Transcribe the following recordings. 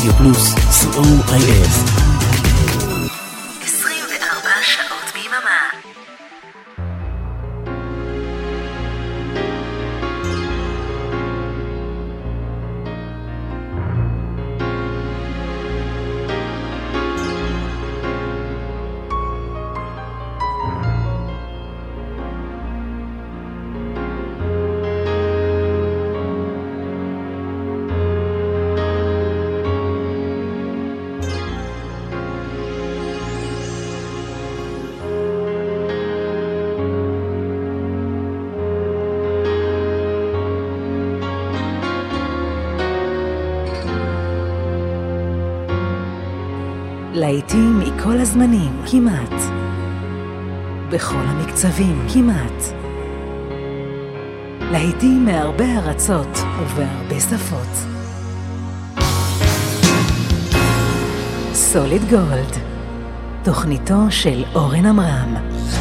רדיו פלוס, COIF. 24 שעות ביממה. להיטים מכל הזמנים, כמעט. בכל המקצבים, כמעט. להיטים מהרבה ארצות ובהרבה שפות. סוליד גולד, תוכניתו של אורן אמרם.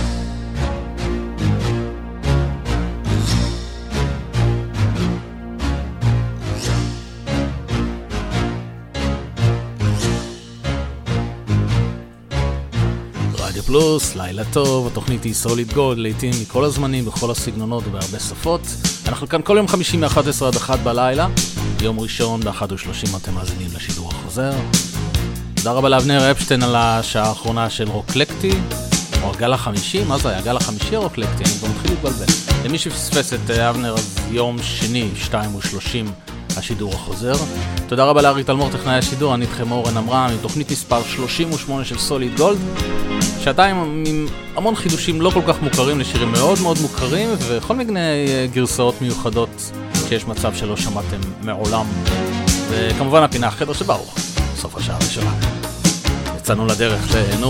פלוס, לילה טוב, התוכנית היא סוליד גולד, לעתים מכל הזמנים, בכל הסגנונות ובהרבה שפות. אנחנו כאן כל יום חמישי מ-11 עד 1 בלילה, יום ראשון ב-1:30 אתם מאזינים לשידור החוזר. תודה רבה לאבנר אפשטיין על השעה האחרונה של רוקלקטי, או הגל החמישי, מה זה היה? הגל החמישי או רוקלקטי? אני כבר מתחיל להתבלבל. למי שפספס את אבנר, אז יום שני, 2:30 השידור החוזר. תודה רבה לארי תלמור, טכנאי השידור, אני איתכם אורן אמרם, עם תוכנית מספר 38 של סוליד גולד. שעתיים עם המון חידושים לא כל כך מוכרים לשירים מאוד מאוד מוכרים, וכל מיני גרסאות מיוחדות שיש מצב שלא שמעתם מעולם. וכמובן הפינה החדר שברוך, סוף השעה הראשונה. יצאנו לדרך, תהנו.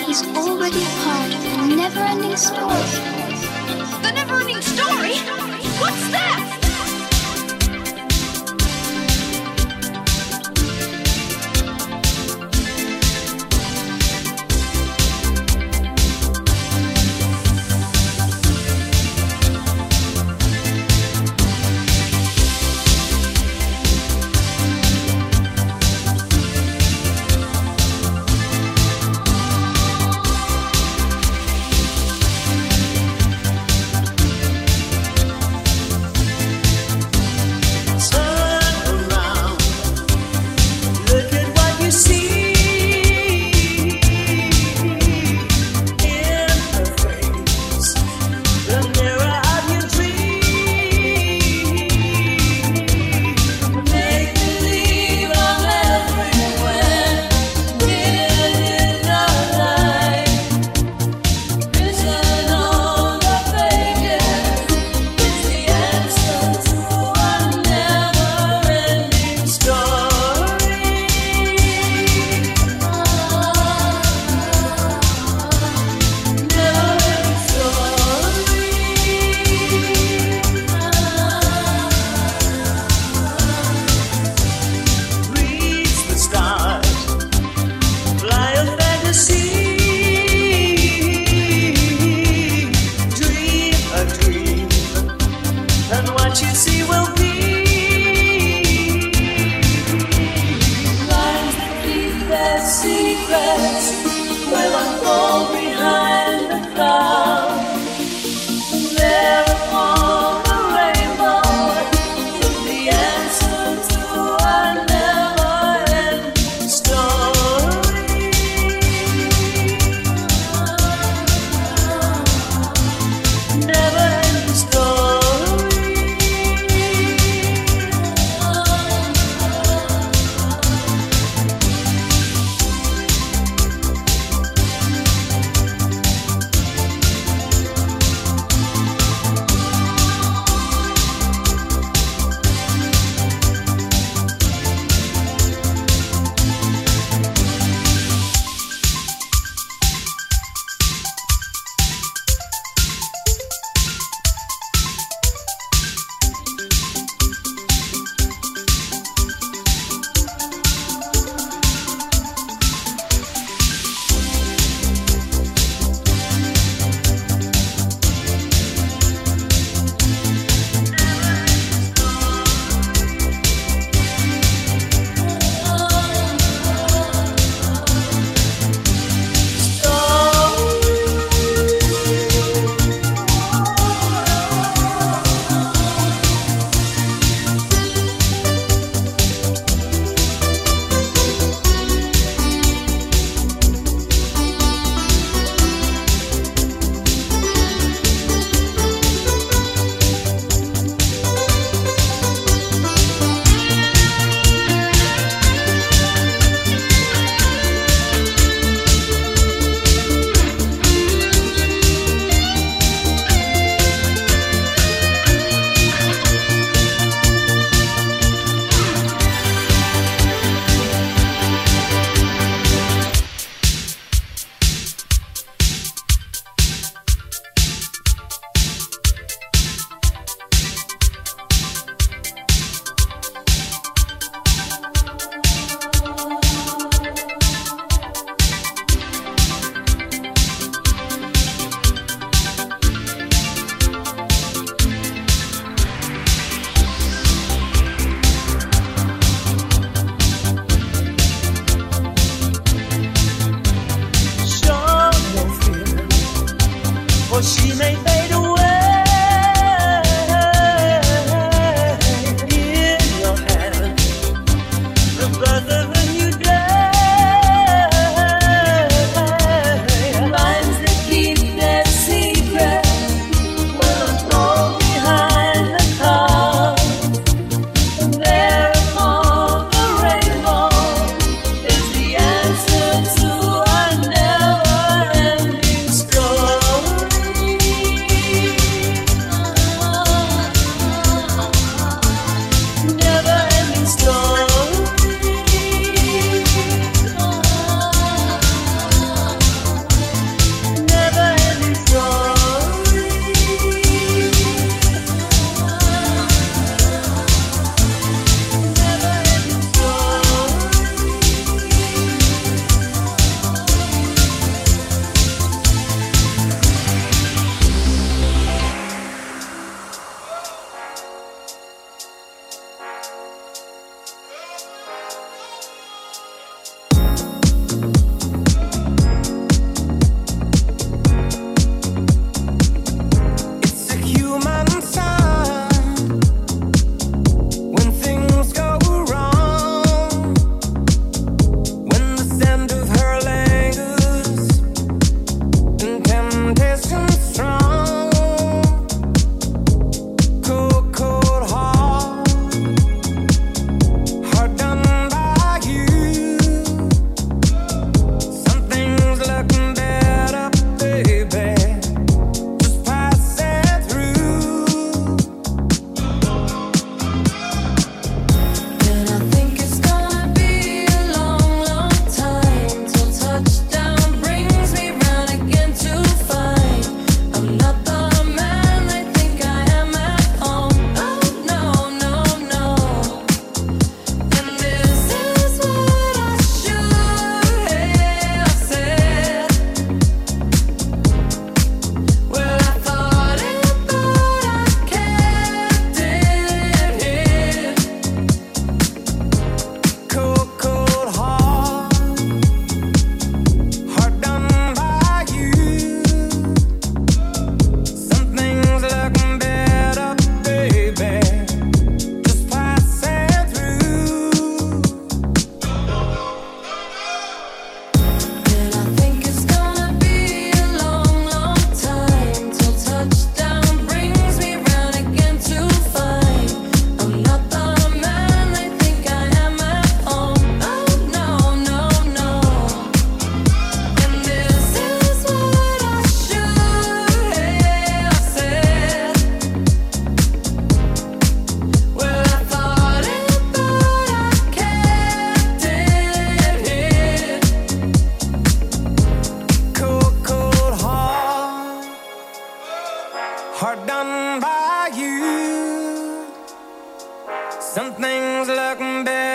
He's already a part of the never-ending story. The never-ending story? What's that?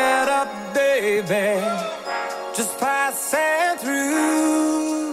get up, baby, just passing through.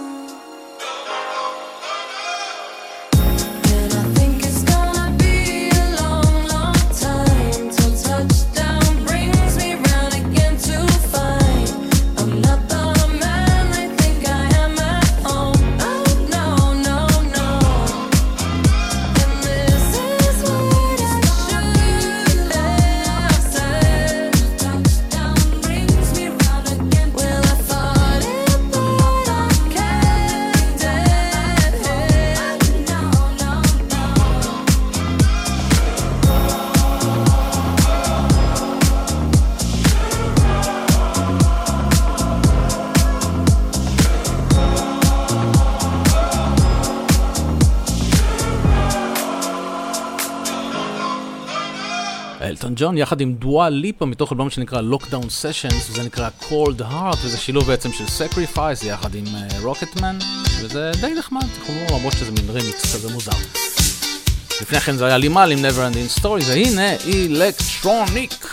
אלטון ג'ון יחד עם דואה ליפה מתוך אלבום שנקרא Lockdown Sessions, וזה נקרא Cold Heart, וזה שילוב בעצם של Sacrifice יחד עם רוקטמן, וזה די נחמד, למרות שזה מין רימיקס כזה מוזר. לפני כן זה היה לימל עם Never Ending Story, והנה אלקטרוניק.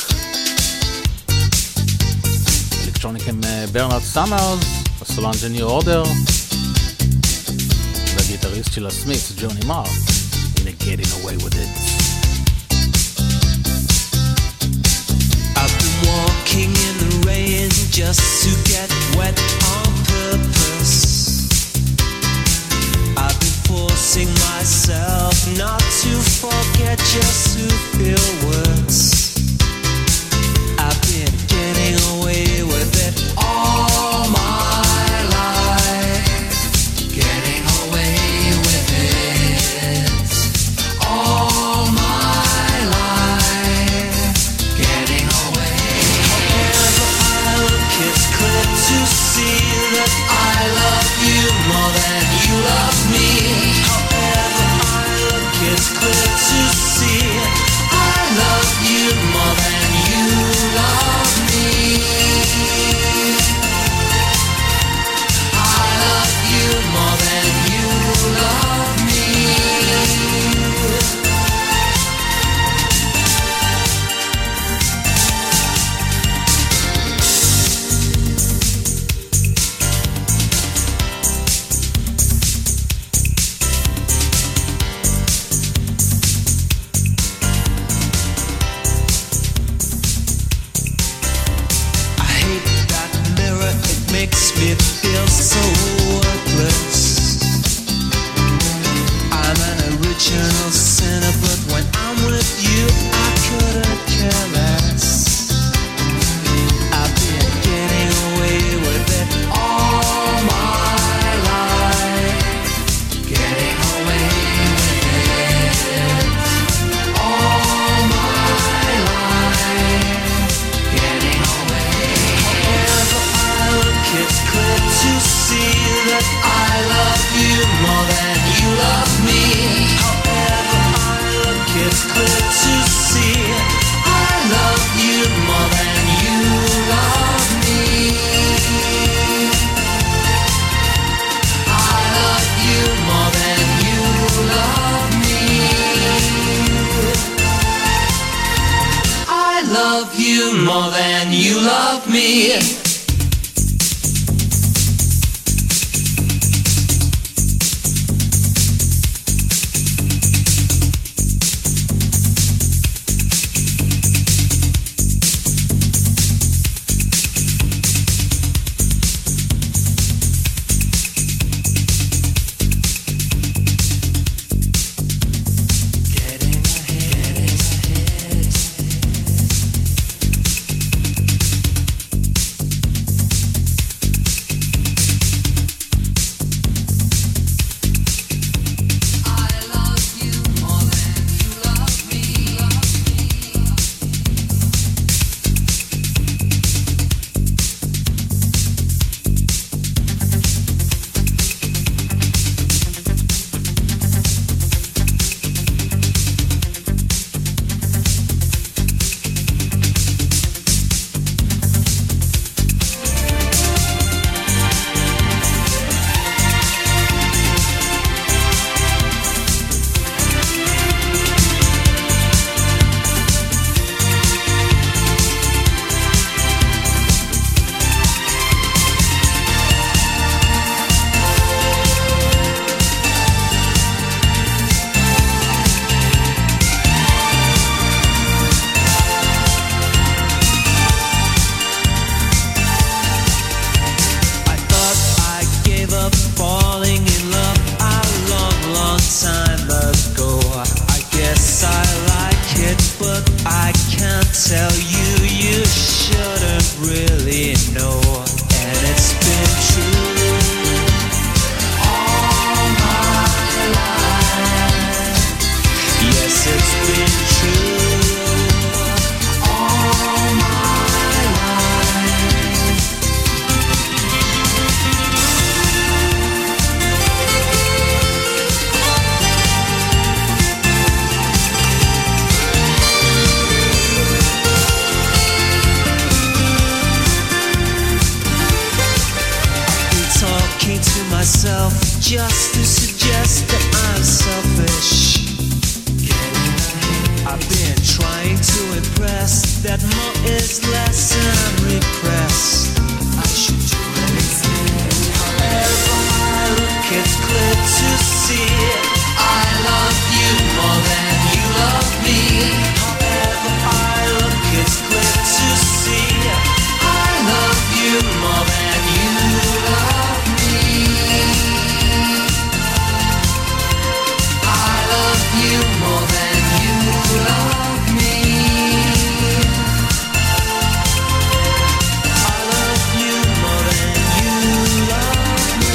אלקטרוניק עם ברנרד סאמרס, הסולנג' ניו אורדר, והגיטריסט של הסמית'ס ג'וני מר. הנה Getting Away With It. Walking in the rain just to get wet on purpose. I've been forcing myself not to forget, just to feel worse. I've been getting away with it all my life. Getting away with it all my life. Getting away. It's clear to see that I love you more than you love me. However I look, it's clear to see I love you more than you love me. I love you more than you love me. Makes me feel so worthless. I'm an original sinner, but when I'm with you, I couldn't care less. I've been getting away with it all my life. Getting away with it all my life. Getting away. It's clear to see that I love you more than you love me. However I look, it's clear to see I love you more than you love me. I love you more than you love me. I love you more than you love me. just to suggest that I'm selfish. I've been trying to impress that more is less and I'm repressed. I should do anything. However I look, it's clear to see I love you more than you love me. However I look, it's clear to see I love you more than you love me. I love you more than you love me. I love you more than you love me.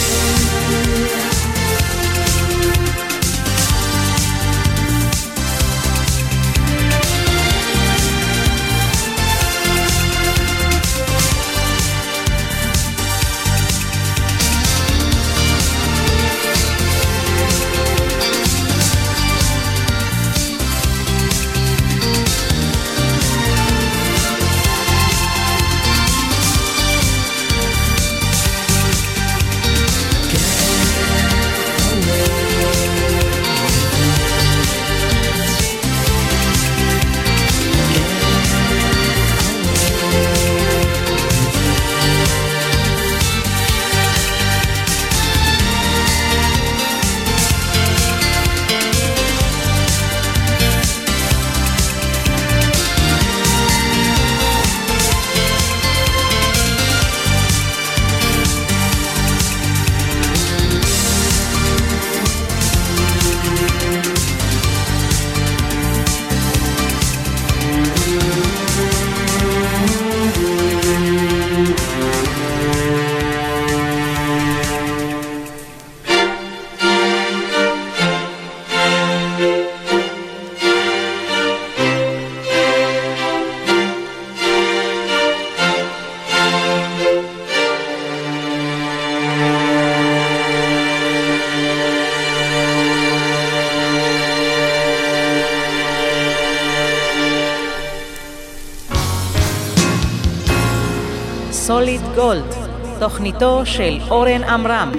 סוליד גולד, תוכניתו של אורן עמרם.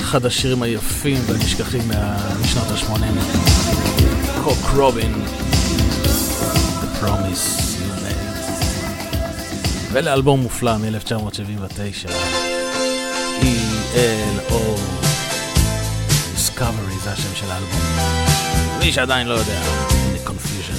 אחד השירים היפים והנשכחים משנות ה-80. קוק רובין, The Promise You Made. ולאלבום מופלא מ-1979, ELO Discovery, זה השם של האלבום. מי שעדיין לא יודע, The Confusion.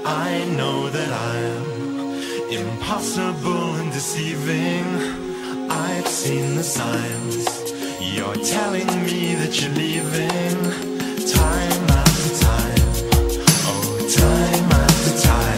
I know that I'm impossible and deceiving. I've seen the signs. You're telling me that you're leaving. Time after time. Oh, time after time.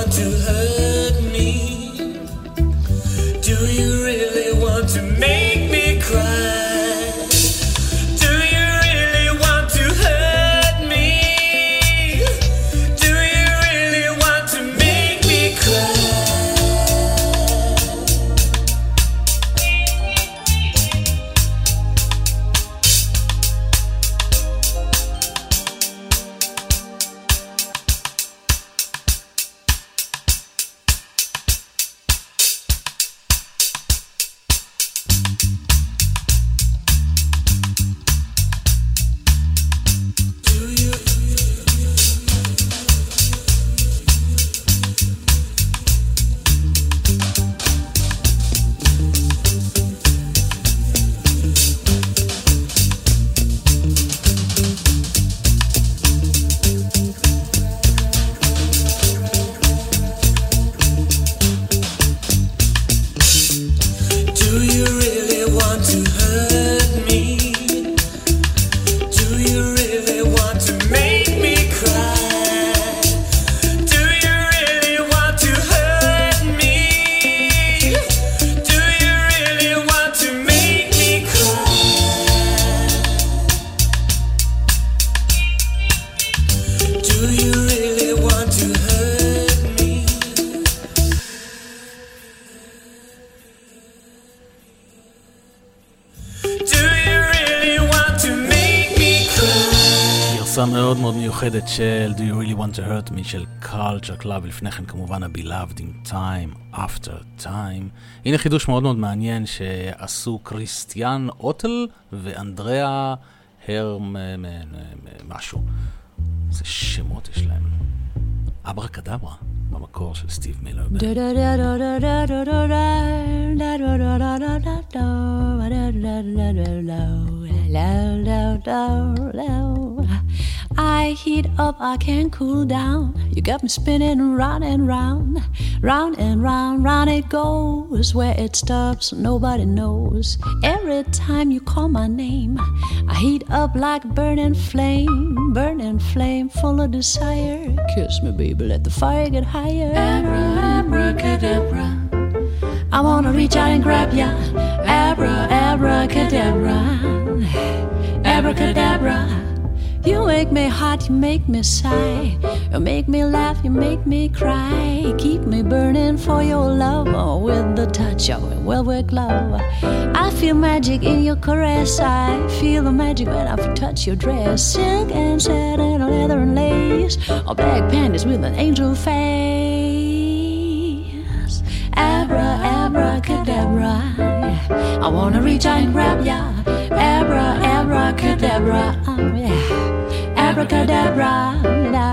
want to hurt me? Do you really want to make me cry? Do you really want to hurt me? Do you really want to make me cry? מאוד מאוד מיוחדת של Do You Really Want To Hurt Me של Culture Club, לפני כן כמובן ה-Beloved in Time After Time. הנה חידוש מאוד מאוד מעניין שעשו קריסטיאן אוטל ואנדריאה הרם משהו. איזה שמות יש להם. אברה קדברה במקור של סטיב מילר. I heat up, I can't cool down. You got me spinning round and round, round and round, round it goes. Where it stops, nobody knows. Every time you call my name, I heat up like burning flame, full of desire. Kiss me, baby, let the fire get higher. Abra, abracadabra, I wanna reach out and grab ya. Abra, abracadabra, abracadabra. You make me hot, you make me sigh. You make me laugh, you make me cry. Keep me burning for your love, with the touch of a velvet glove. I feel magic in your caress. I feel the magic when I touch your dress. Silk and satin, leather and lace, or black panties with an angel face. Abra, abracadabra, I wanna reach out and grab ya. Abra, abracadabra, yeah. Abracadabra, da.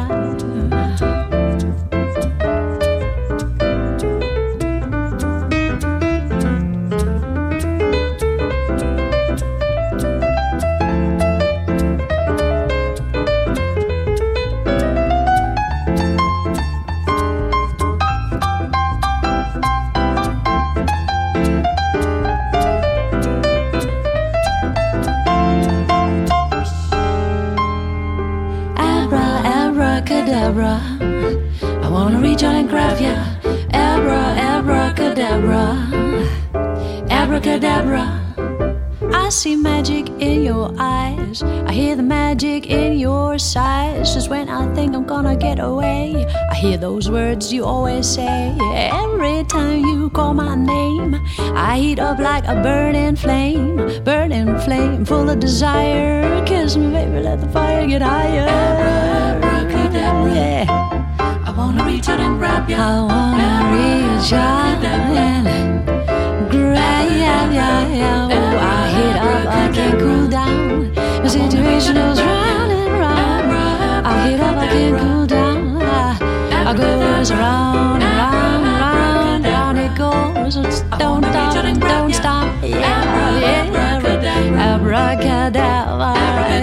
I wanna reach out and grab ya. Abra, abracadabra, abracadabra. I see magic in your eyes. I hear the magic in your sighs. Just when I think I'm gonna get away, I hear those words you always say. Every time you call my name, I heat up like a burning flame, full of desire. Kiss me, baby, let the fire get higher. Abracadabra, yeah. I wanna reach out and grab ya. I wanna reach out and grab ya. Oh, I heat up, I can't cool down. The situation goes round and round. I heat up, I can't cool down. I goes round and round, round, round it goes. Don't stop. Yeah, abracadabra,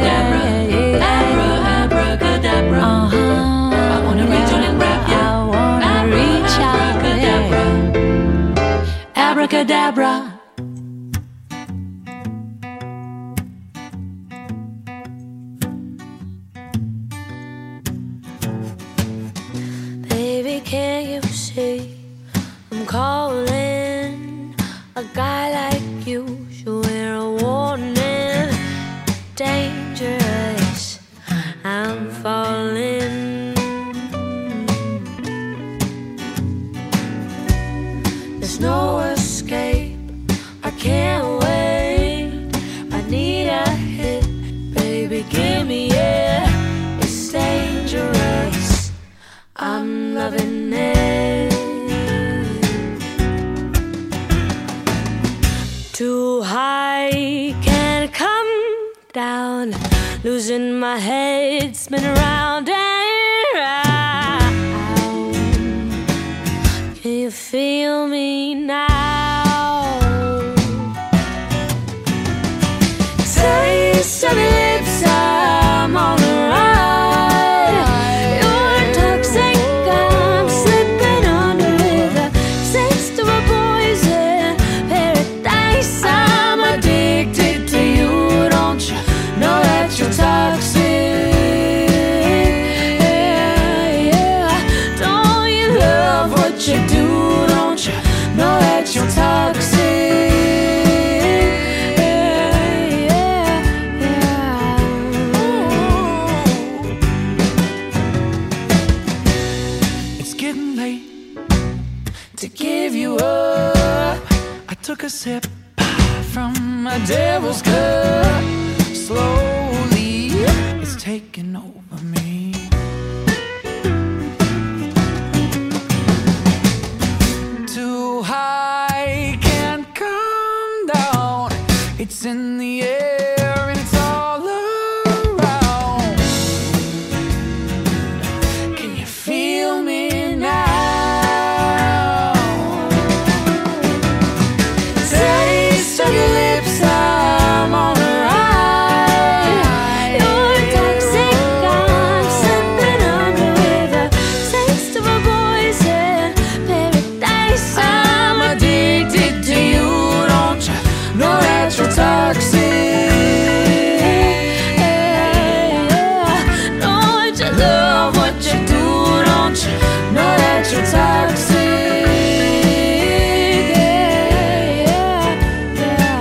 abracadabra. I wanna reach out and grab ya. I wanna reach out, yeah. Abracadabra. Baby, can't you see I'm calling? A guy like you should wear a warning. Dangerous, I'm falling. There's no escape, I can't wait. I need a hit, baby, give me it. It's dangerous, I'm loving it. Too high, can't come down. Losing my head, spin around and round. Can you feel me now? Taste of your lips, I'm on the ride. You're toxic, I'm slipping under with a taste of a poison paradise. I'm addicted to you, don't you know that you're toxic? Yeah, yeah. Don't you love what you do? Don't you know that you're toxic? Yeah, yeah, yeah. It's getting late to give you up. I took a sip from my devil's cup. Slowly, it's taking over me. Too high, can't come down. It's in the air and it's all around. Can you feel me now? Taste of your lips, I'm on the ride. You're toxic, I'm slipping under with a taste of a poison paradise. I'm addicted to you, don't you know that you're toxic? Yeah, yeah. Don't you love what you do? Don't you know that you're toxic? Yeah, yeah,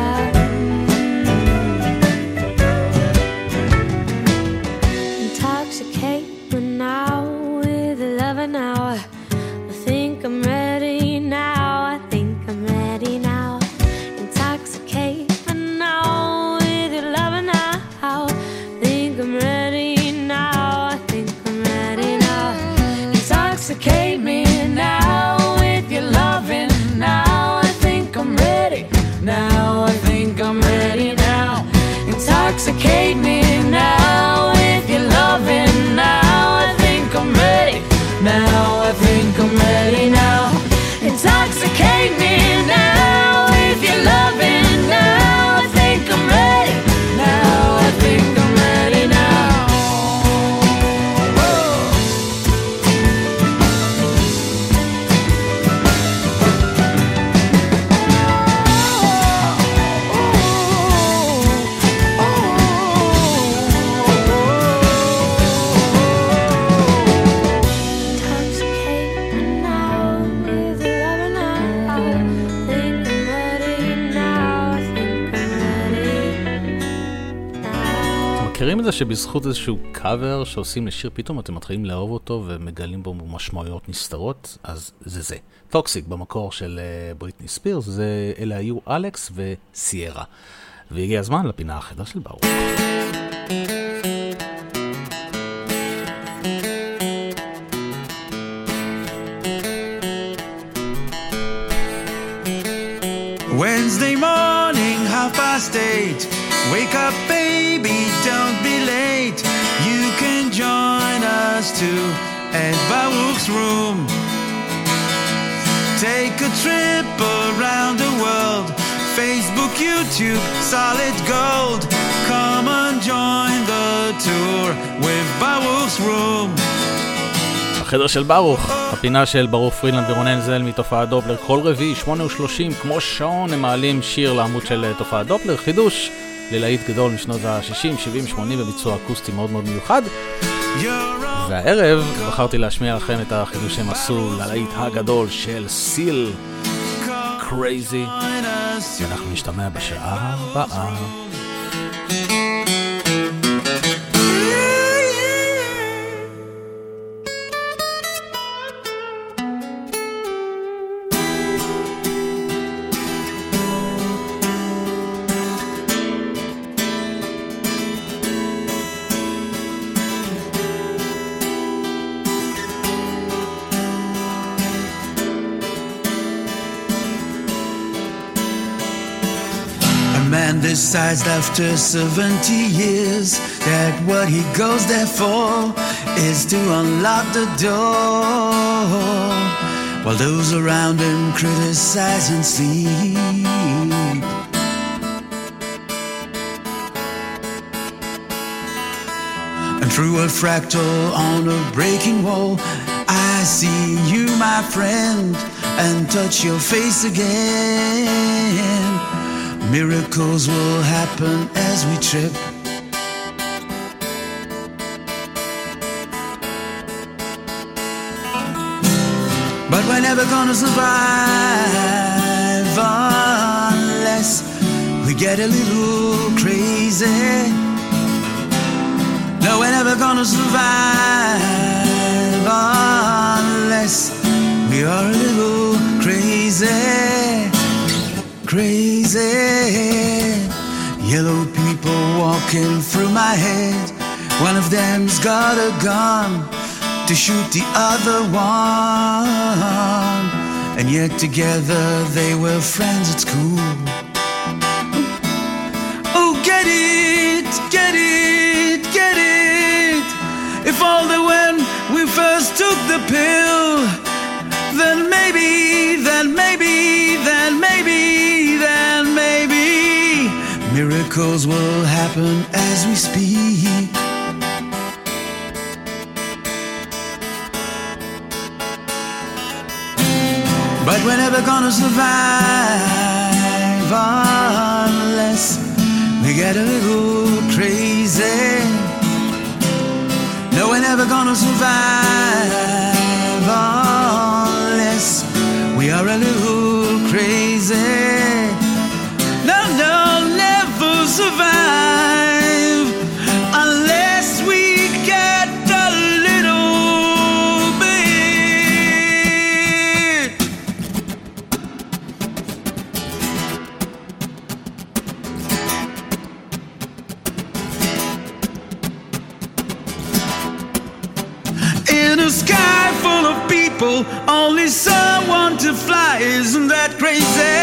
yeah. Intoxicate me now with loving now. I think I'm ready now. I think I'm ready now. Intoxicate me now with your loving now. Think I'm ready now. I think I'm ready now. Intoxicate me now with your loving now. I think I'm ready now. I think I'm ready now. Intoxicate me now with your loving now. I think I'm ready now. I think I'm ready now. Intoxicate me now with your loving now. I think I'm ready now. I think I'm ready now. Whoa. Intoxicate me now with your loving now. I think I'm ready now. I think I'm ready now. מכירים את זה שבזכות איזשהו קאבר שעושים לשיר פתאום אתם מתחילים לאהוב אותו ומגלים בו משמעויות נסתרות? אז זה טוקסיק במקור של בריטני ספירס. אלה היו אלכס וסיירה, והגיע הזמן לפינה החדר של ברוך. Wednesday morning, 8:30. Wake up, baby, don't be late. You can join us too at Baruch's room. Take a trip around the world. Facebook, YouTube, solid gold. Come and join the tour with Baruch's room. החדר של ברוך, הפינה של ברוך פרילנד ורון הנזל מתופעת דופלר. כל רביעי 8:30 כמו שעון הם מעלים שיר לעמוד של תופעת דופלר, חידוש ללהיט גדול משנות ה-60, 70, 80 בביצוע אקוסטי מאוד מאוד מיוחד. והערב בחרתי להשמיע לכם את החידוש שהם עשו ללהיט הגדול של סיל, קרייזי. ואנחנו נשתמע בשעה הבאה. Decides after 70 years that what he goes there for is to unlock the door, while those around him criticize and sleep. And through a fractal on a breaking wall, I see you, my friend, and touch your face again. Miracles will happen as we trip. But we're never gonna survive unless we get a little crazy. No, we're never gonna survive unless we are a little crazy. Crazy. Yellow people walking through my head. One of them's got a gun to shoot the other one, and yet together they were friends at school. Oh, get it, get it, get it. If only when we first took the pill, then maybe, then maybe, then maybe, then maybe miracles will happen as we speak. But we're never gonna survive unless we get a little crazy. No, we're never gonna survive unless we are a little crazy. No, no, never survive unless we get a little bit. In a sky full of people, only someone to fly, isn't that crazy?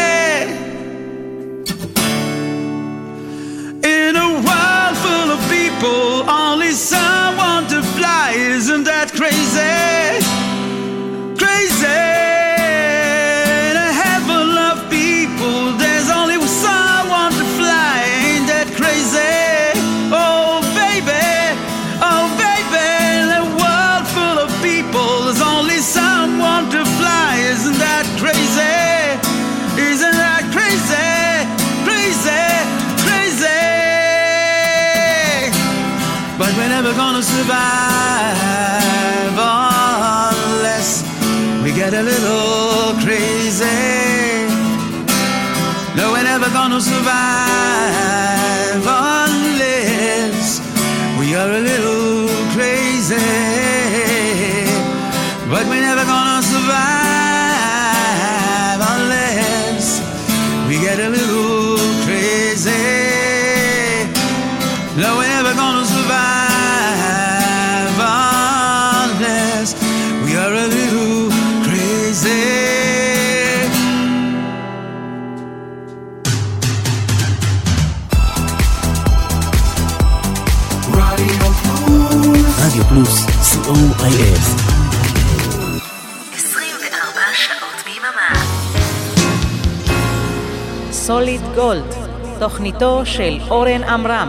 In a world full of people, only someone to fly, isn't that crazy? Crazy. In a heaven of people, there's only someone to fly, ain't that crazy? Oh baby, in a world full of people, there's only someone to fly, isn't that crazy? Isn't that crazy? Crazy, crazy. But we're never gonna survive unless we get a little crazy. No, we're never gonna survive unless we are a little crazy. But we're never gonna survive unless we get a little crazy. No, we're never gonna survive unless we are a little crazy. רדיו פלוס, COIF. 24 שעות ביממה. סוליד גולד, תוכניתו של אורן עמרם.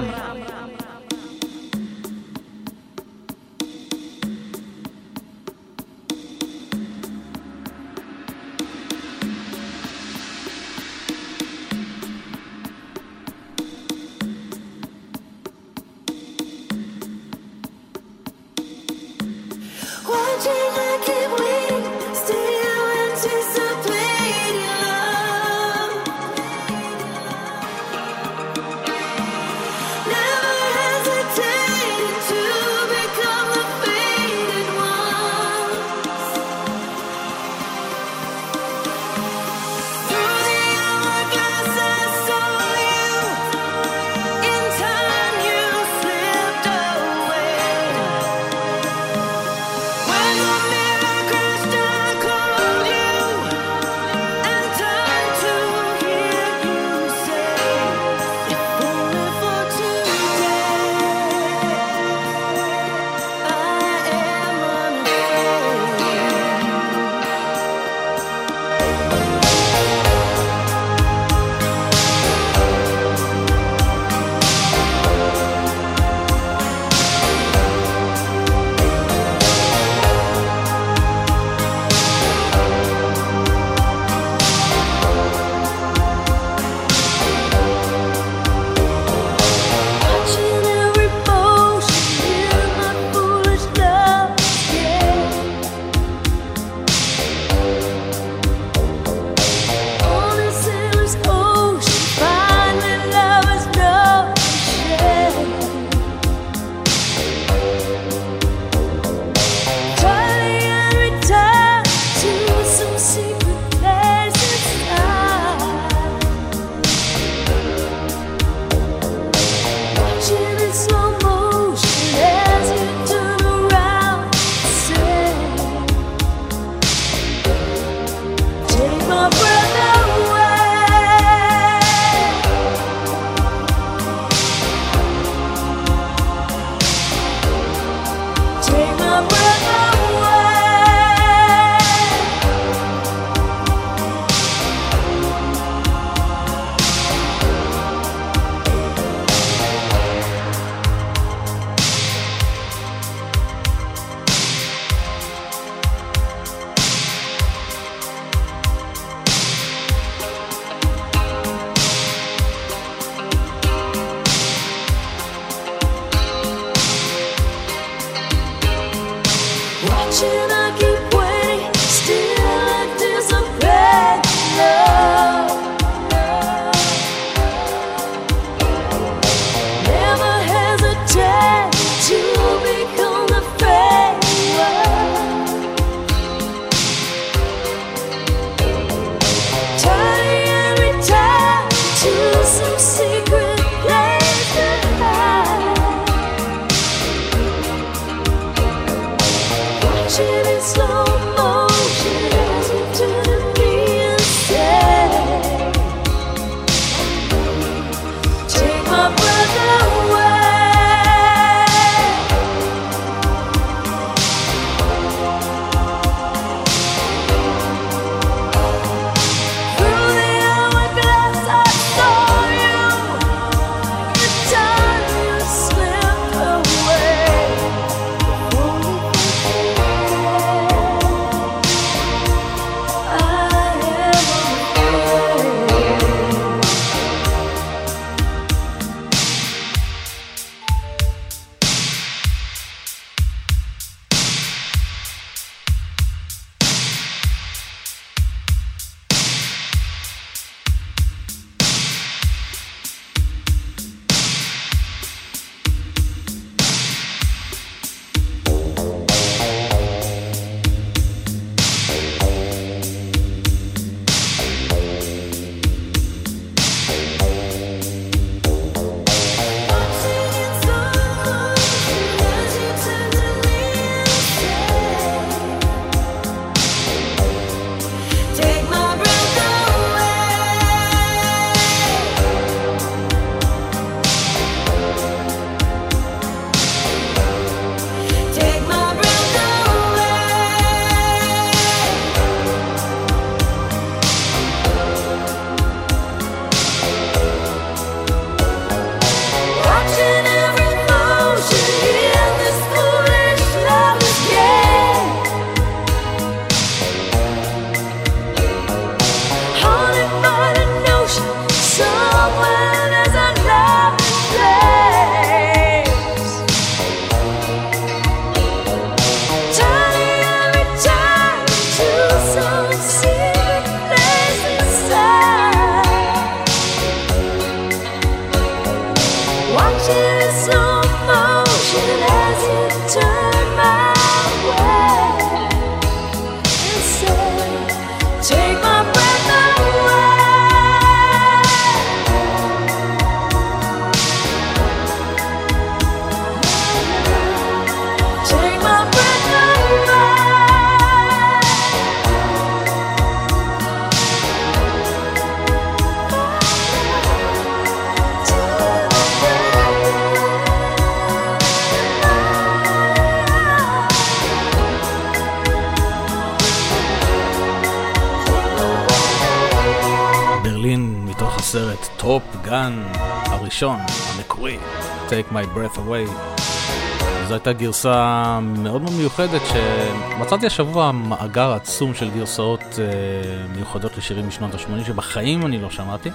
הסרט טופ גן הראשון, המקורי, Take My Breath Away. זו הייתה גרסה מאוד מאוד מיוחדת שמצאתי השבוע מאגר עצום של גרסאות מיוחדות לשירים משנות ה-80 שבחיים אני לא שמעתי,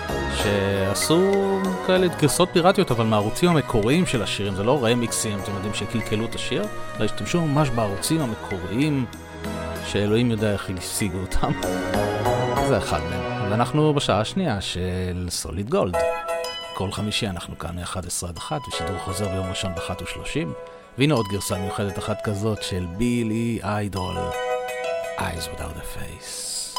שעשו כאלה גרסאות פיראטיות אבל מהערוצים המקוריים של השירים, זה לא רמיקסים, אתם יודעים שקלקלו את השיר, אלא השתמשו ממש בערוצים המקוריים שאלוהים יודע איך השיגו אותם. זה אחד מהם. ואנחנו בשעה השנייה של סוליד גולד. כל חמישי אנחנו כאן מ-11 עד 1 ושידור חוזר ביום ראשון ב-1:30. והנה עוד גרסה מיוחדת אחת כזאת של בילי איידול, Eyes Without a Face.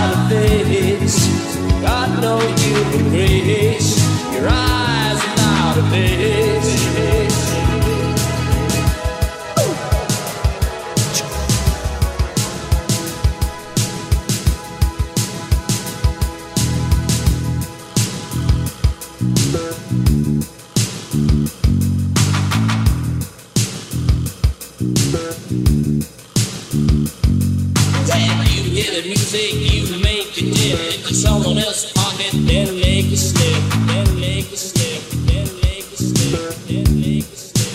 Got no human grace. Your eyes without hear the music, you make it dip. Into someone else's pocket, then make it slip. Then make it slip. Then make it slip. Then make it slip.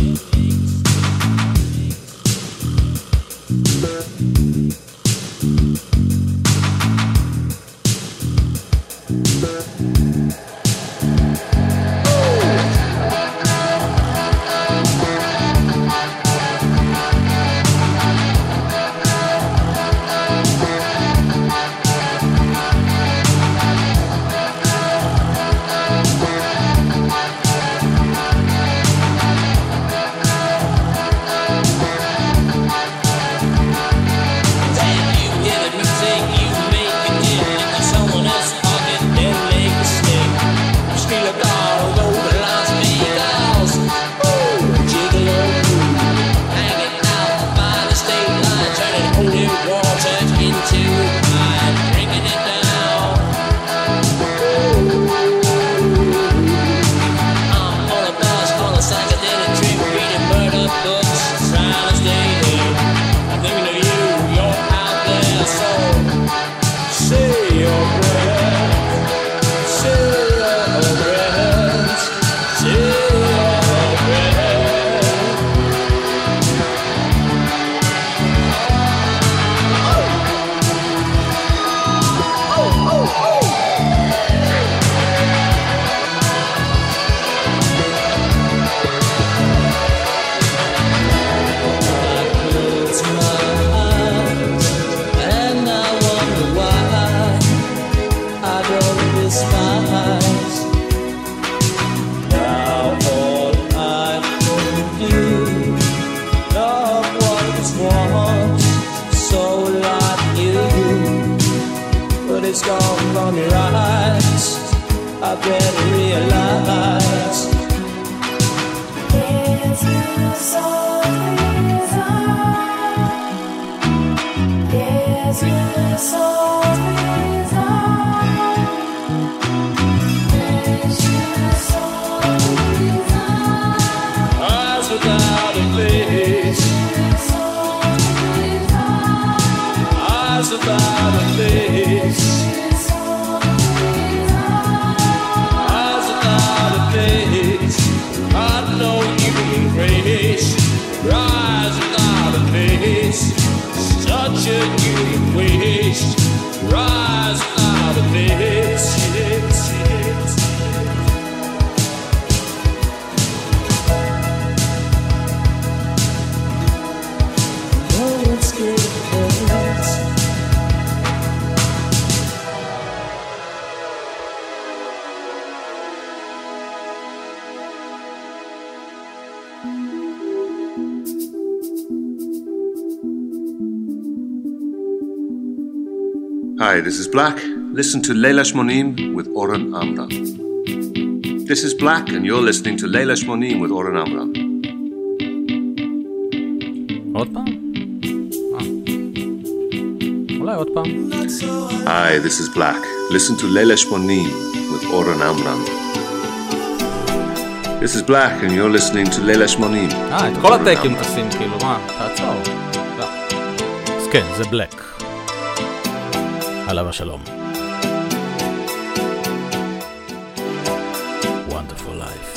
Hi, this is Black. Listen to Leila Shmonim with Oren Amram. This is Black, and you're listening to Leila Shmonim with Oren Amram. עוד פעם? אולי עוד פעם. Hi, this is Black. Listen to Leila Shmonim with Oren Amram. This is Black, and you're listening to Leila Shmonim. את כל הטייקים תשים, כאילו, מה? תעצור. לא. אז כן, זה בלק. עליו השלום. Wonderful life.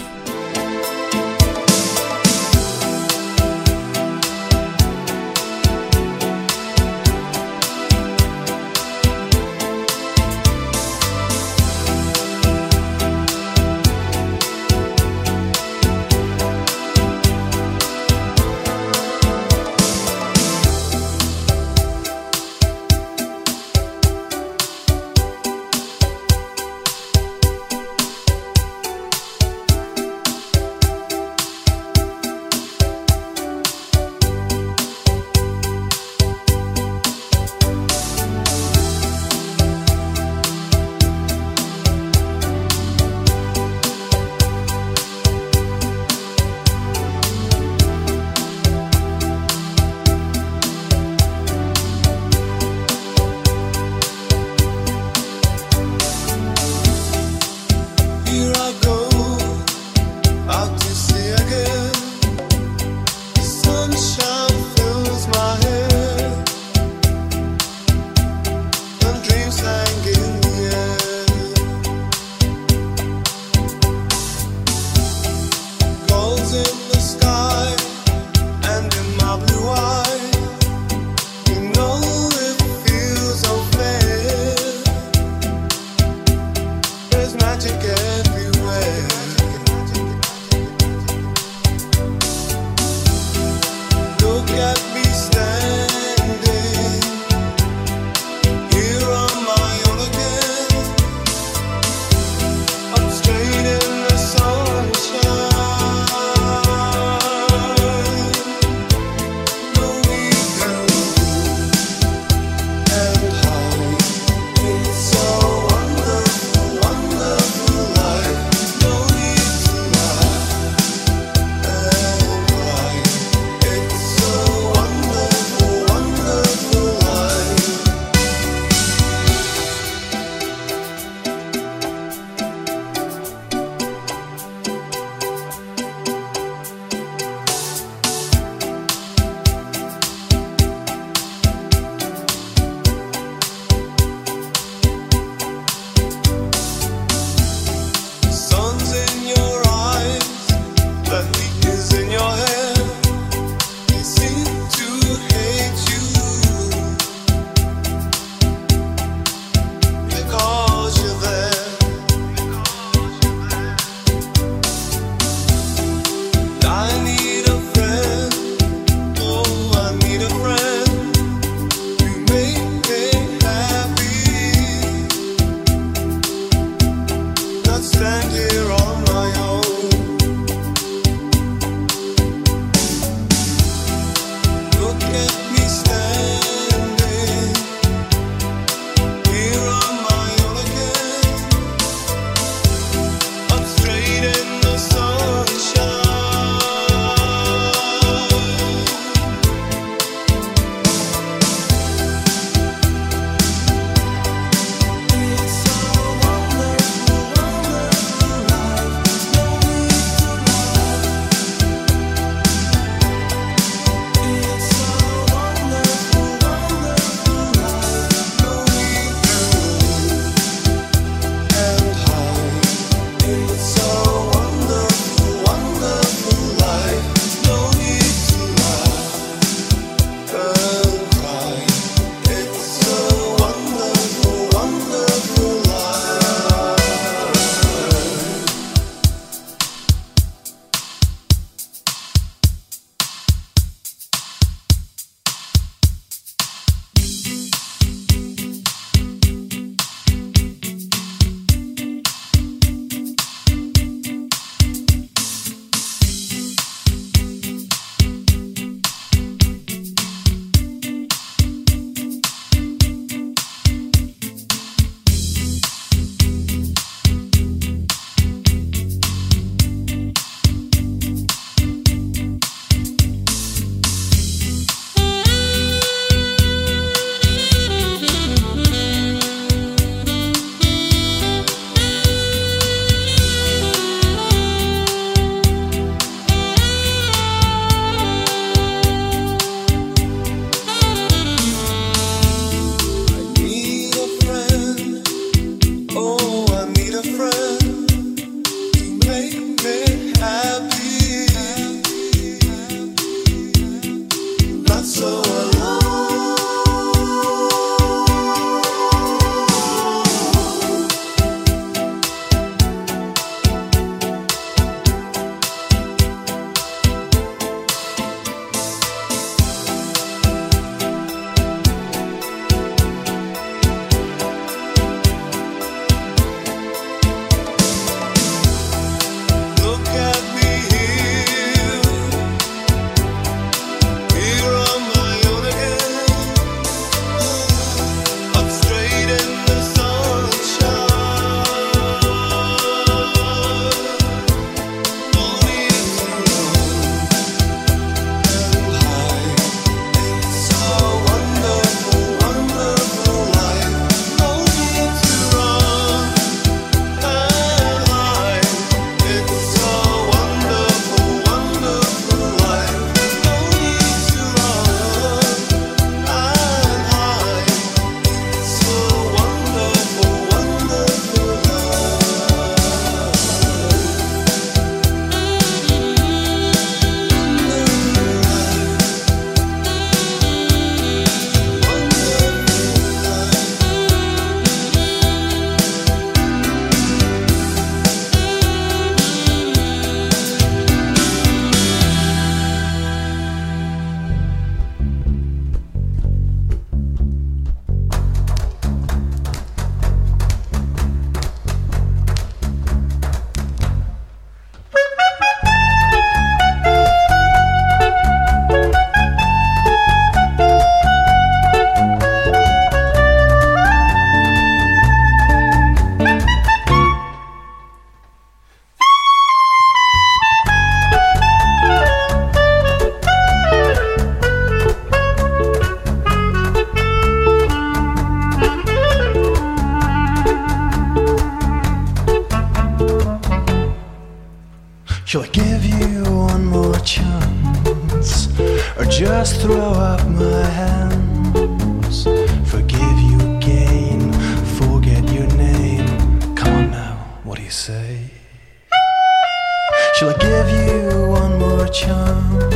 Shall I give you one more chance, or just throw up my hands? Forgive you again, forget your name. Come on now, what do you say? Shall I give you one more chance?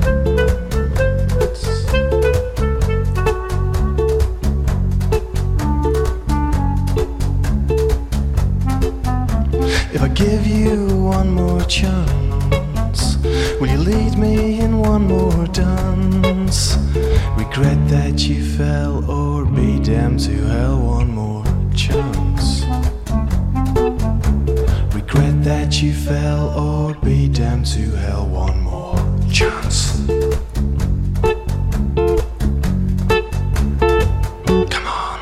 If I give you one more chance, will you lead me in one more dance? Regret that you fell, or be damned to hell, one more chance. Regret that you fell, or be damned to hell, one more chance. Come on.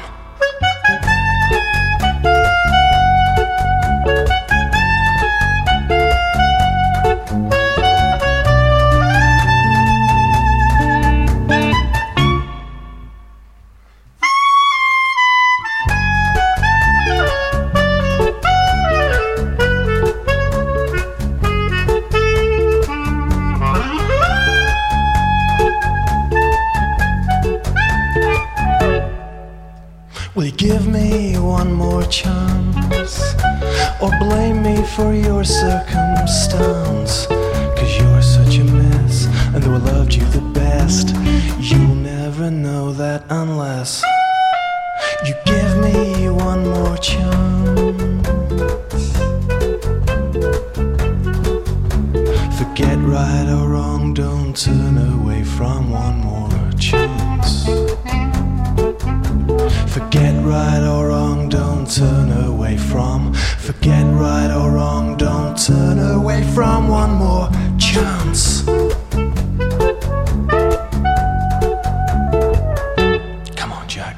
Will you give me one more chance, or blame me for your circumstance? 'Cause you're such a mess, and though I loved you the best, you'll never know that unless you give me one more chance. Forget right or wrong, don't turn away from one more chance. Forget right or wrong, don't turn away from. Forget right or wrong, don't turn away from one more chance. Come on, Jack.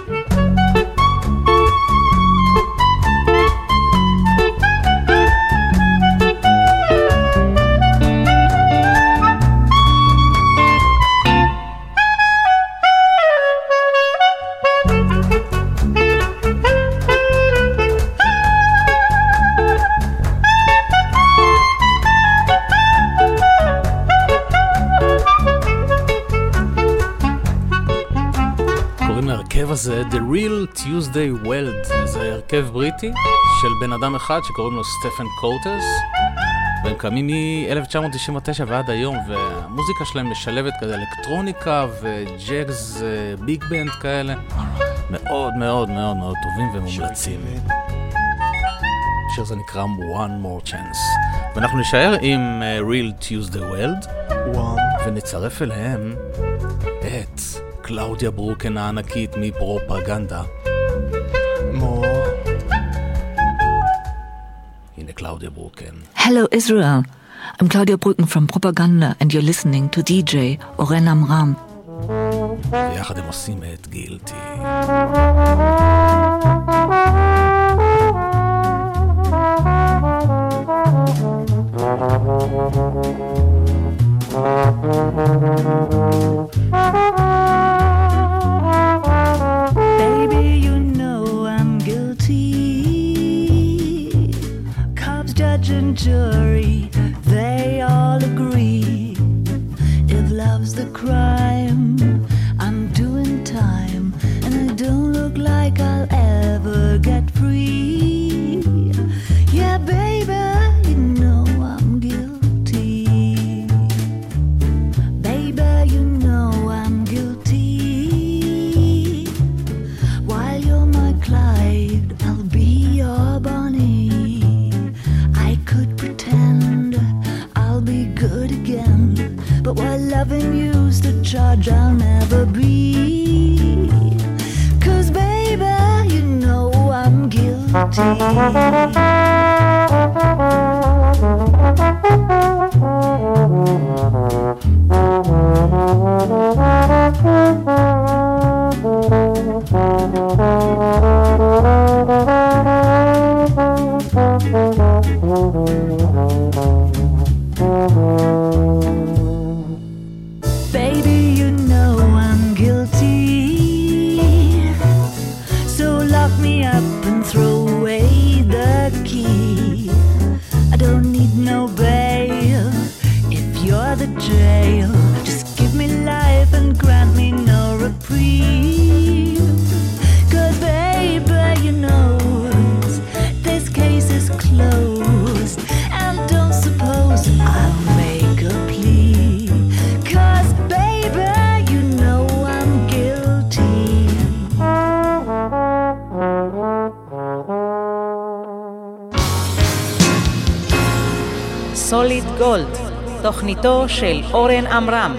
זה The Real Tuesday Weld, זה הרכב בריטי של בן אדם אחד שקוראים לו סטפן קוטס, והם קמים מ-1999 ועד היום, והמוזיקה שלהם משלבת כזה אלקטרוניקה וג'אז ביג בנד כאלה, מאוד מאוד מאוד מאוד טובים ומומלצים. השיר זה נקרא One More Chance, ואנחנו נשאר עם Real Tuesday Weld ונצרף אליהם את קלאודיה ברוקן הענקית מפרופגנדה. הנה קלאודיה ברוקן. Hello Israel, I'm Claudia Brücken from Propaganda and you're listening to DJ Oren Amram. ויחד הם עושים את גילטי. Baby, you know I'm guilty. Cops, judge and jury, they all agree. If love's the crime, I'm doing time, and I don't look like I'll ever get free. Yeah, baby, you know I'm guilty. Baby, you know I'm guilty. While you're my Clyde, I'll be your Bonnie. I could pretend I'll be good again, but while loving you's the charge I'll never be. 'Cause baby, you know I'm guilty. Baby, you know I'm guilty. So lock me up and throw away the key. סוליד גולד, תוכניתו של אורן עמרם.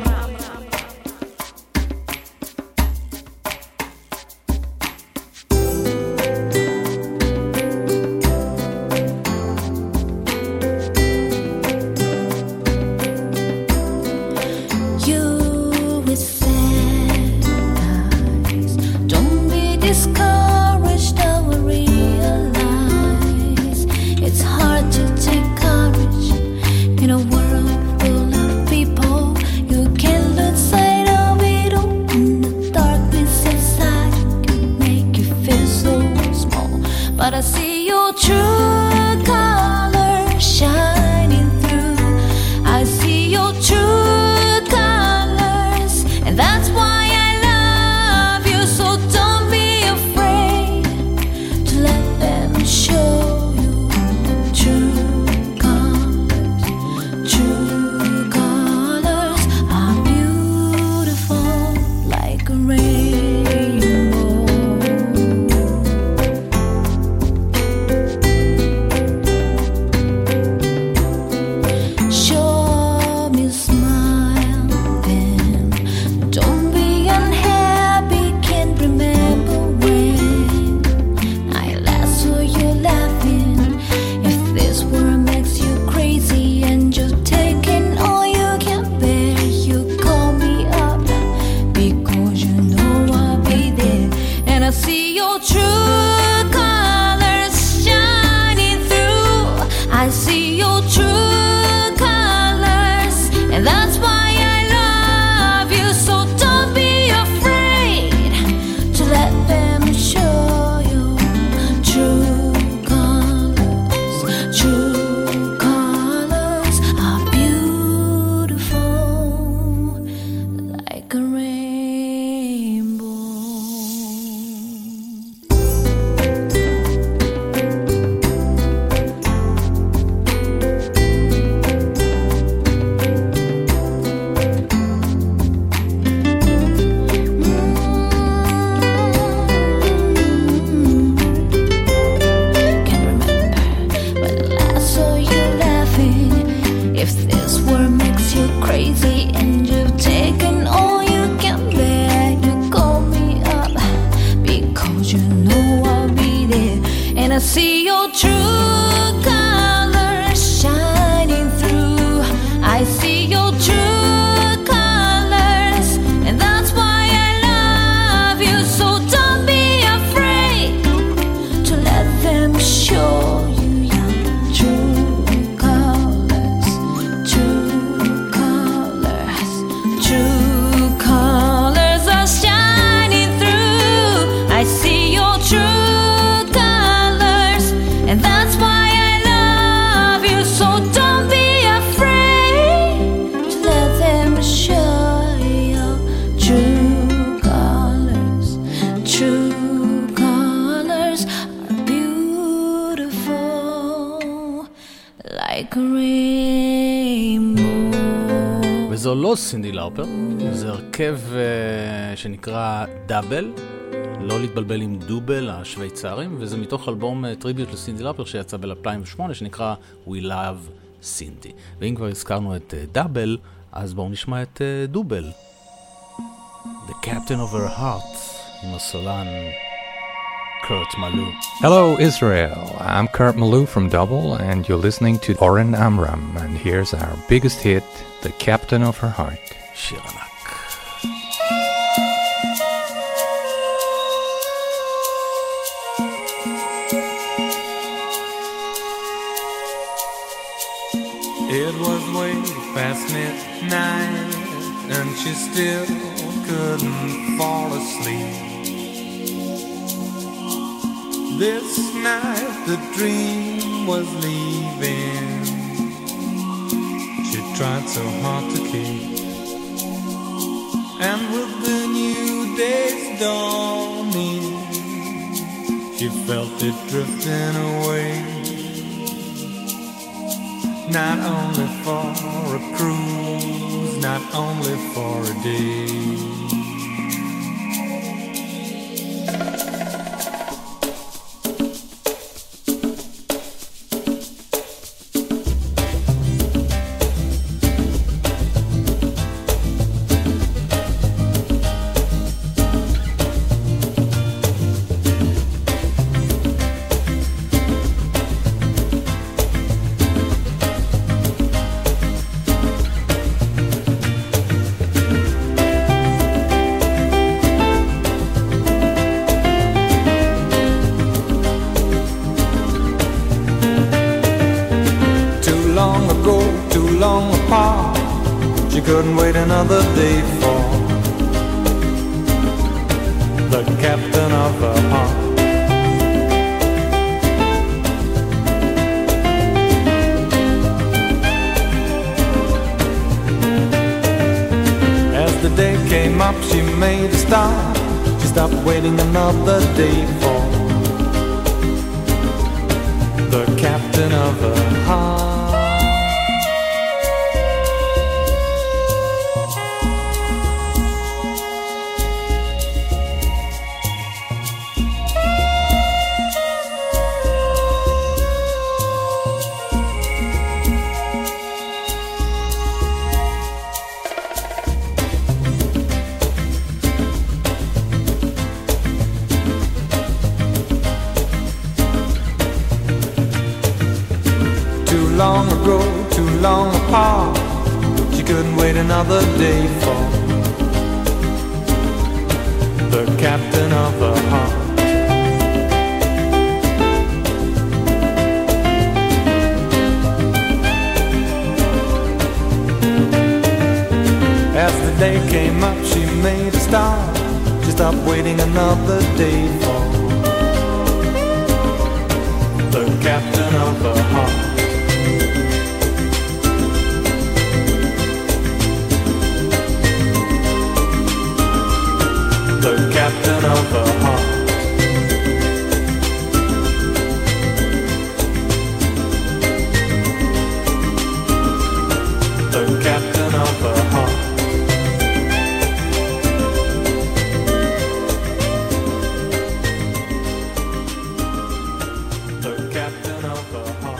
וזו לא סינדי לאופר, זה הרכב שנקרא דאבל, לא להתבלבל עם דובל השוויצרים, וזה מתוך אלבום טריביוט לסינדי לאופר שיצא ב-2008 שנקרא We Love Cindy. ואם כבר הזכרנו את דאבל, אז בואו נשמע את דובל, The Captain of Her Heart, עם הסולן Kurt Malou. Hello Israel, I'm Kurt Malou from Double and you're listening to Oren Amram, and here's our biggest hit, The Captain of Her Heart. שיר ענק. It was way past midnight and she still couldn't fall asleep. This night the dream was leaving. She tried so hard to keep. And with the new day's dawning, she felt it drifting away. Not only for a cruise, not only for a day. couldn't wait another day for the captain of her heart. As the day came up, she made a start. She stopped waiting another day for the captain of her heart. Long ago, too long apart, she couldn't wait another day for the captain of her heart. As the day came up, she made a start. She stopped waiting another day for the captain of her heart. The captain of her heart. The captain of her heart. The captain of her heart.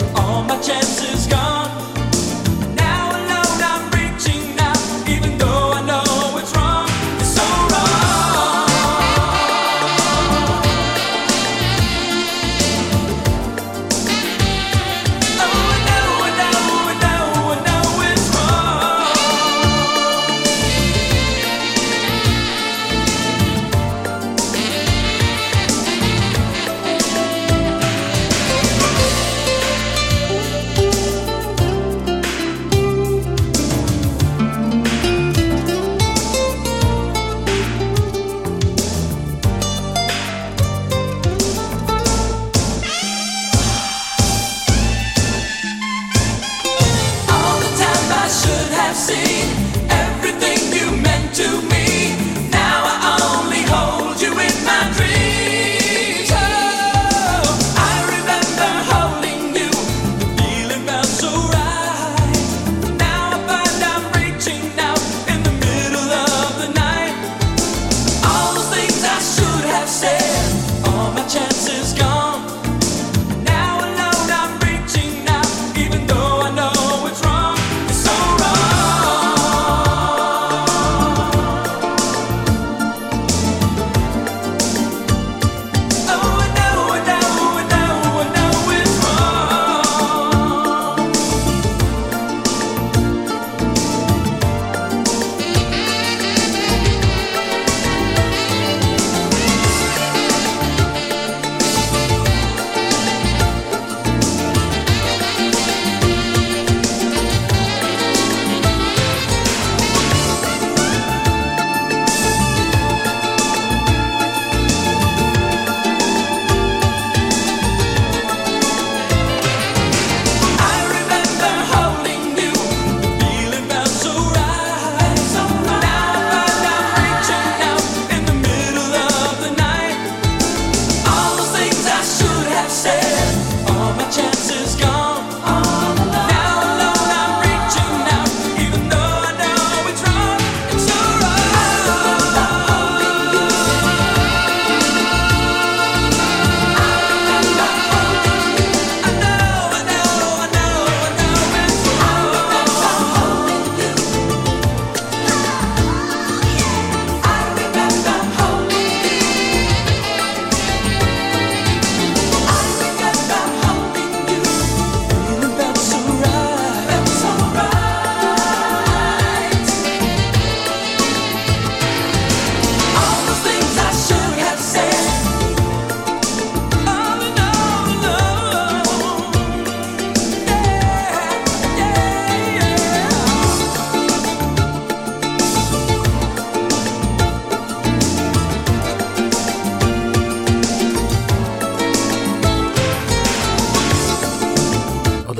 Chances gone. Now alone I'm reaching out, even though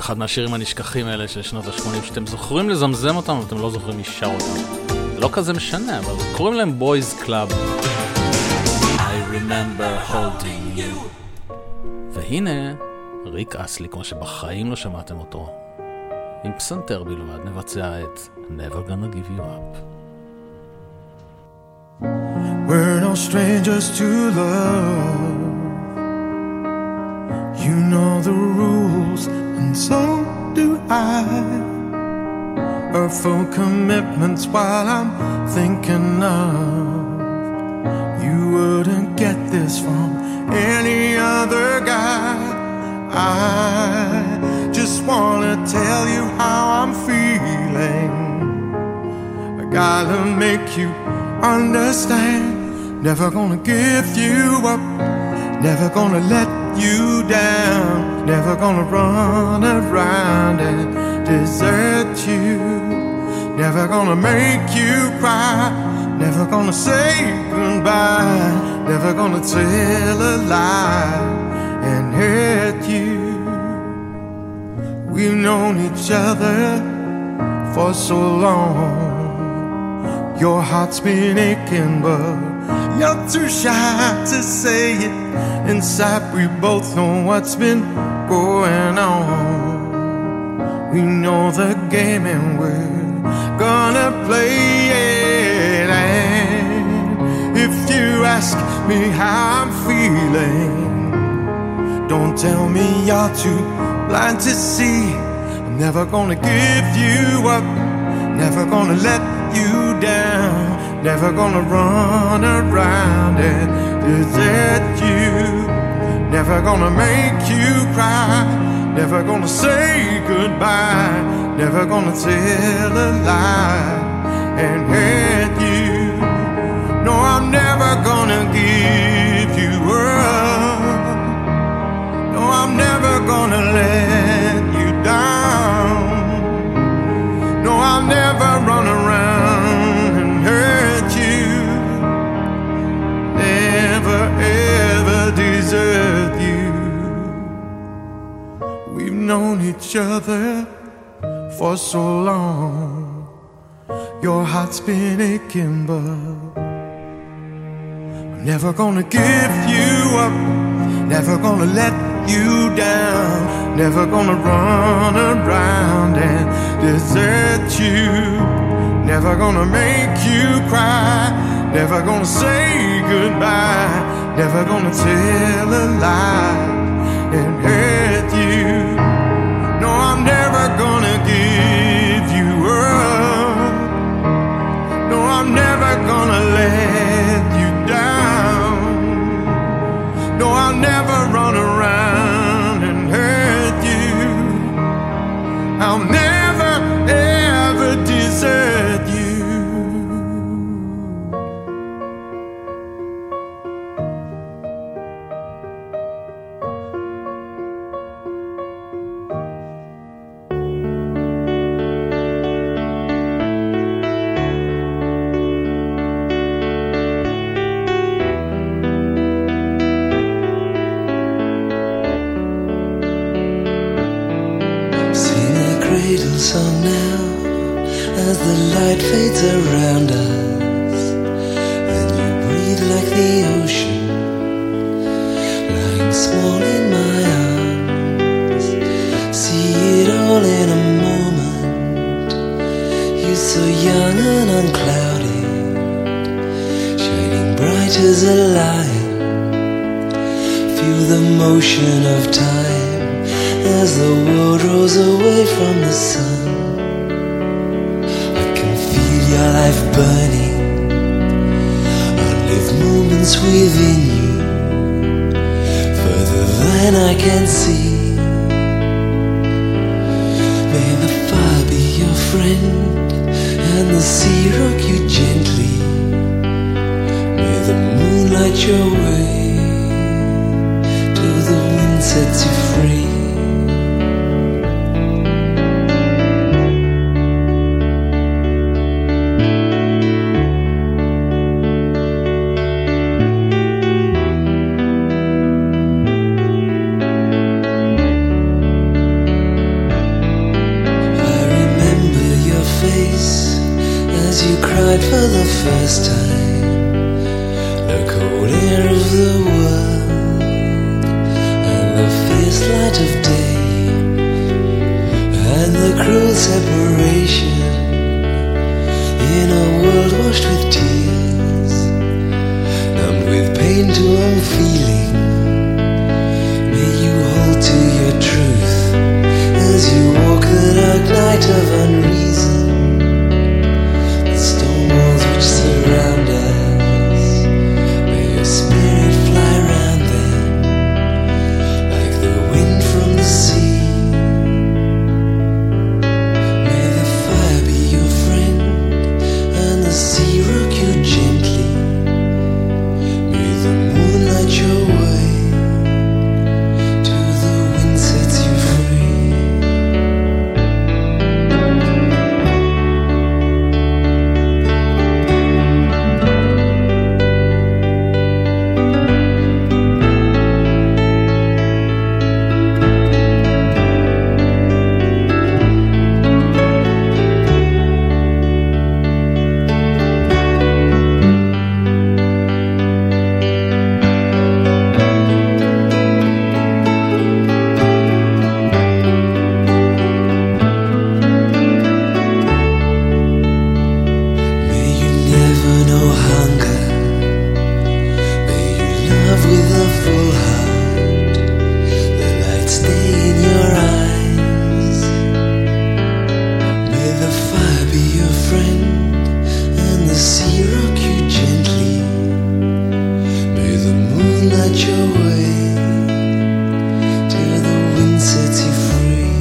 אחד מהשירים הנשכחים האלה של שנות ה-80, שאתם זוכרים לזמזם אותם, אבל אתם לא זוכרים לשיר אותם. זה לא כזה משנה, אבל קוראים להם Boys Club. I remember holding you. והנה, ריק אסלי, כמו שבחיים לא שמעתם אותו. עם פסנתר בלבד נבצע את Never Gonna Give You Up. We're no strangers to love. You know the rules, and so do I. Our full commitments while I'm thinking of. You wouldn't get this from any other guy. I just wanna tell you how I'm feeling. I gotta make you understand. Never gonna give you up. Never gonna let you down. Never gonna run around and desert you. Never gonna make you cry. Never gonna say goodbye. Never gonna tell a lie and hurt you. We've known each other for so long. Your heart's been aching, but you're too shy to say it. Inside we both know what's been going on. We know the game and we're gonna play it. And if you ask me how I'm feeling, don't tell me you're too blind to see. I'm never gonna give you up. Never gonna let you down. Never gonna run around and desert you. Never gonna make you cry. Never gonna say goodbye. Never gonna tell a lie and hurt you. No, I'm never gonna give you up. No, I'm never gonna let you down. No, I'll never run around and hurt you. Never ever desert you. We've known each other for so long. Your heart's been aching, but I'm never gonna give you up. Never gonna let you down. Never gonna run around and desert you. Never gonna make you cry. Never gonna say goodbye. Never gonna tell a lie and hurt you. No, I'm never gonna give you up. No, I'm never gonna let you down. No, I'll never run around and hurt you. I'll never ever desert you. Song now as the light fades around us, and you breathe like the ocean, lying small in my arms. See it all in a moment. You're so young and unclouded, shining bright as a lion. Feel the motion of time as the world rolls away from the sun. I can feel your life burning. I'll live moments within you, further than I can see. May the fire be your friend and the sea rock you gently. May the moon light your way till the wind sets you free. first time the cold air of the world and the fierce light of day and the cruel separation in a world washed with tears, numbed with pain to all feeling. May you hold to your truth as you walk the dark night of unreason. The stone walls which surround us, may your spirit fly round them like the wind from the sea. May the fire be your friend and the sea rock you gently. May the moon light your way till the wind sets you free. May you never know hunger. May you love with a full heart. The light stay in your eyes. May the fire be your friend and the sea rock you gently. May the moon light your way till the wind sets you free.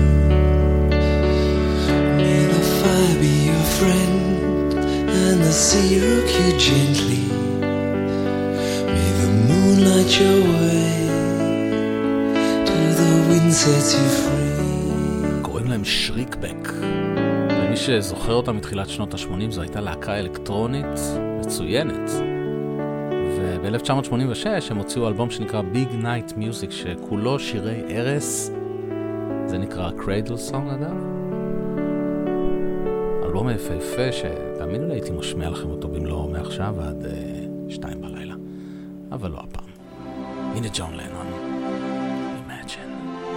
May the fire be your friend and the sea rock you gently. May the moon light your way till the wind sets you free. קוראים להם שריקבק. ומי שזוכר אותם מתחילת שנות ה-80, זו הייתה להקה אלקטרונית מצוינת. וב-1986 הם הוציאו אלבום שנקרא Big Night Music, שכולו שירי ערס. זה נקרא Cradle Song, אגב. אלבום יפהפה שתאמינו לי הייתי משמיע לכם אותו במלואו מעכשיו עד 2 בלילה. אבל לא הפעם. הנה ג'ון לנון. Imagine.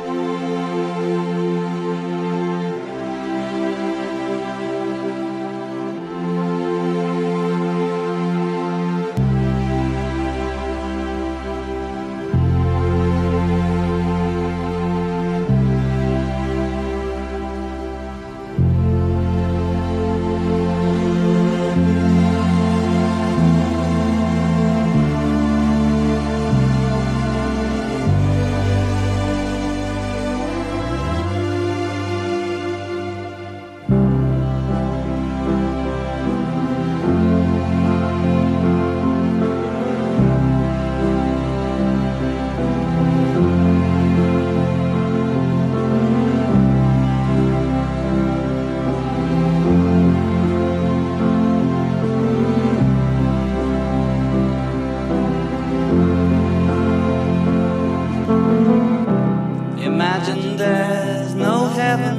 Imagine there's no heaven.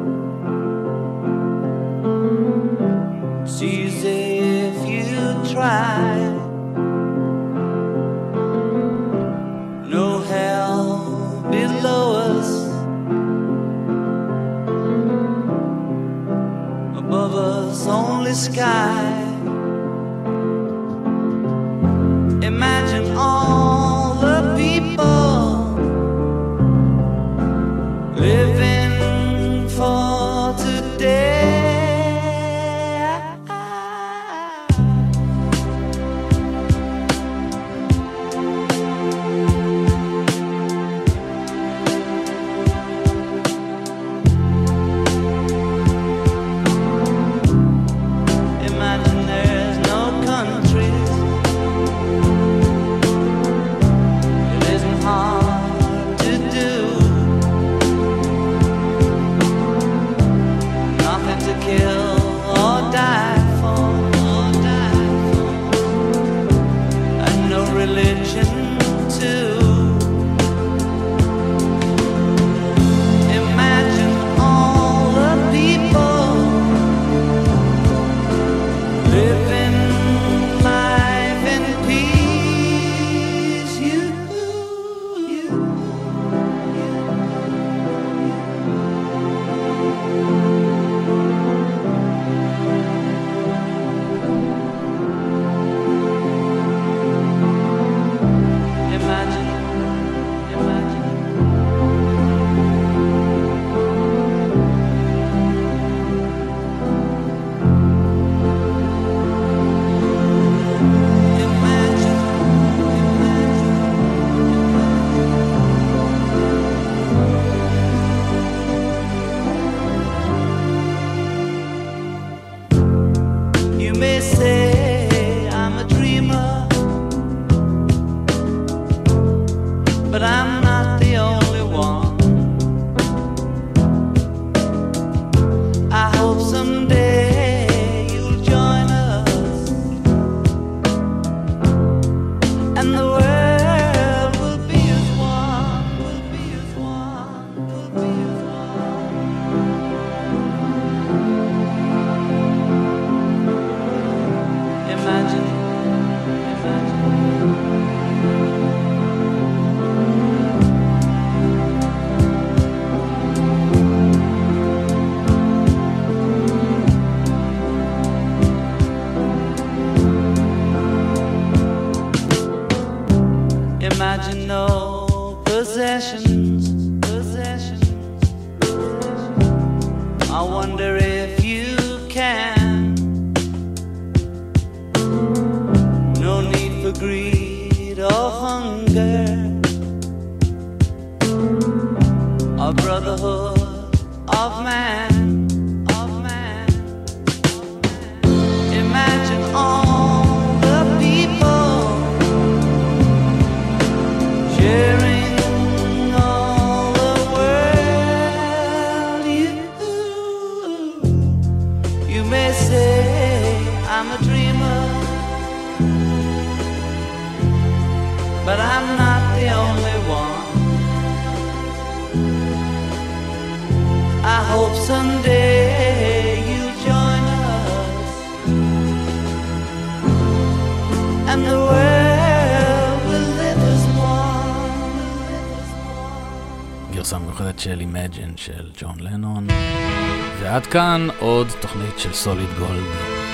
It's easy if you try. No hell below us. Above us only sky. Imagine all the people living for today. Imagine I'm not the only one. I hope someday you'll join us, and the world will be as one, will be as one, will be as one. Imagine, imagine no possessions. I wonder if you can. No need for greed or hunger, a brotherhood of man. Imagine all the people sharing all the world. You may say I'm a dreamer, but I'm not the only one. I hope someday you'll join us, and the world will live as one. גרסה מיוחדת של Imagine של ג'ון לנון. ועד כאן עוד תוכנית של סוליד גולד.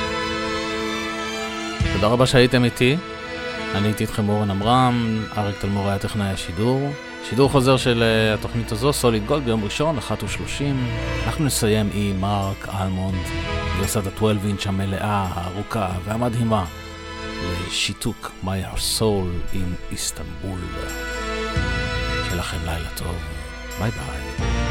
תודה רבה שהייתם איתי. אני הייתי איתכם אורן עמרם, אריק תלמור היה טכנאי השידור. שידור חוזר של התוכנית הזו, סוליד גולד, ביום ראשון, 1:30. אנחנו נסיים עם מרק אלמונד, גרסת ה-12 אינץ' המלאה, הארוכה והמדהימה, לשיתוק My Soul in איסטנבול. שיהיה לכם לילה טוב. ביי ביי.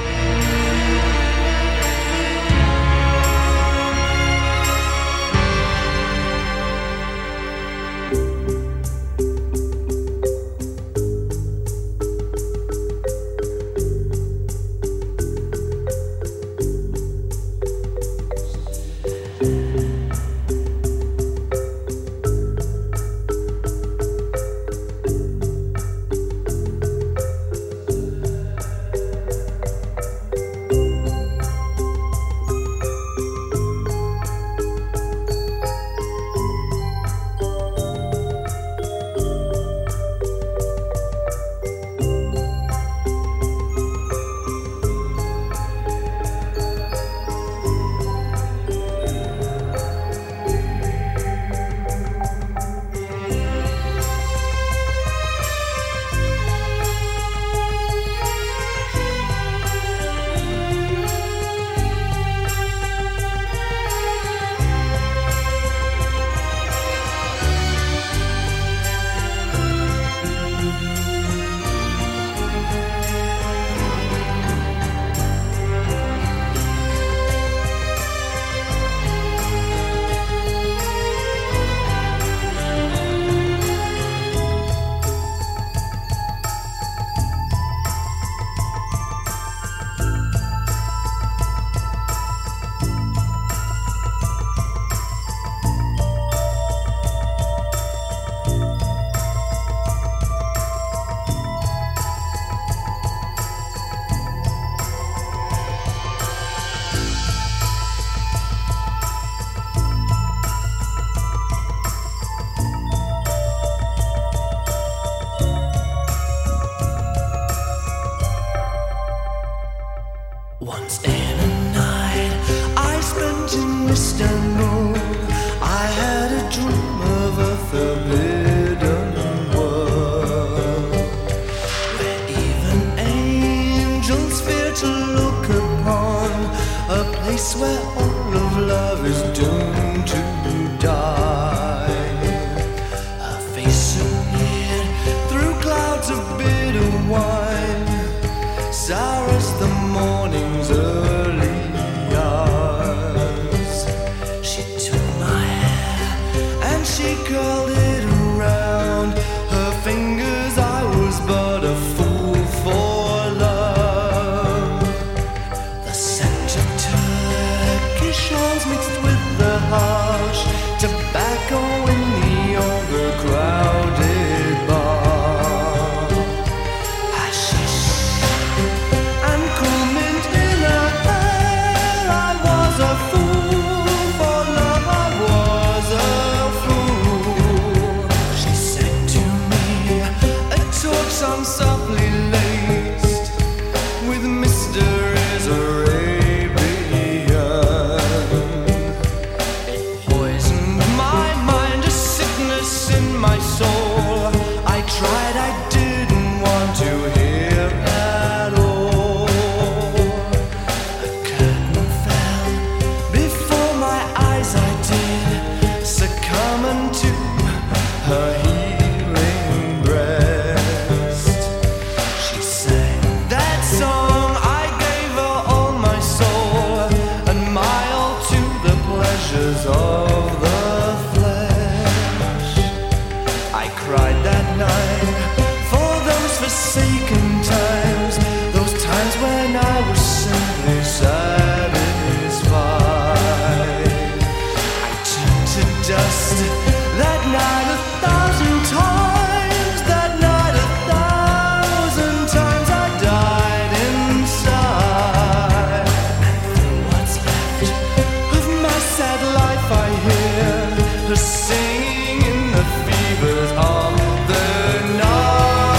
Where all of love is doomed to die. Her face appeared through clouds of bitter wine, sour as the morning's early hours. She took my hair and she curled it around her fingers. I was but a fool softly laced with mysteries Arabian. It poisoned my mind, a sickness in my soul. I tried, I didn't want to hear at all. A curtain fell before my eyes, I did succumb unto her healing breast. She sang that song, I gave her all my soul, and my all to the pleasures of the flesh. I cried that night for those forsaken times, those times when I was simply satisfied. I turned to dust that night 1,000 times, that night 1,000 times I died inside. And for what's left of my sad life I hear her singing in the fevers of the night.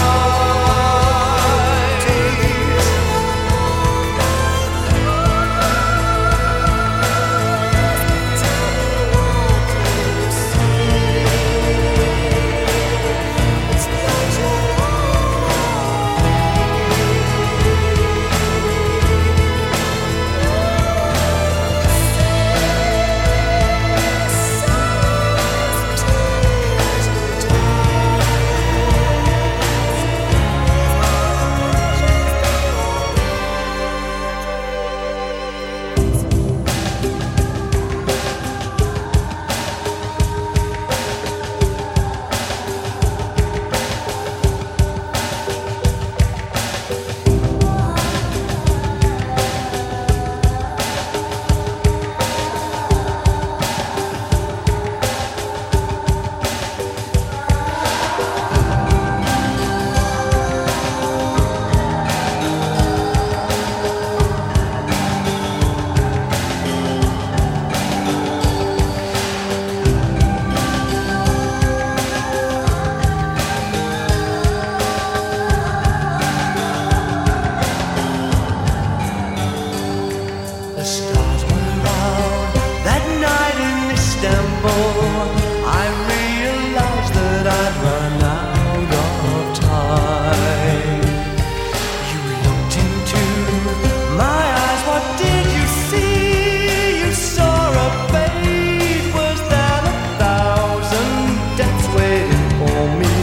The stars were out that night in Istanbul. I realized that I'd run out of time. You looked into my eyes, what did you see? You saw a fate worse than 1,000 deaths waiting for me.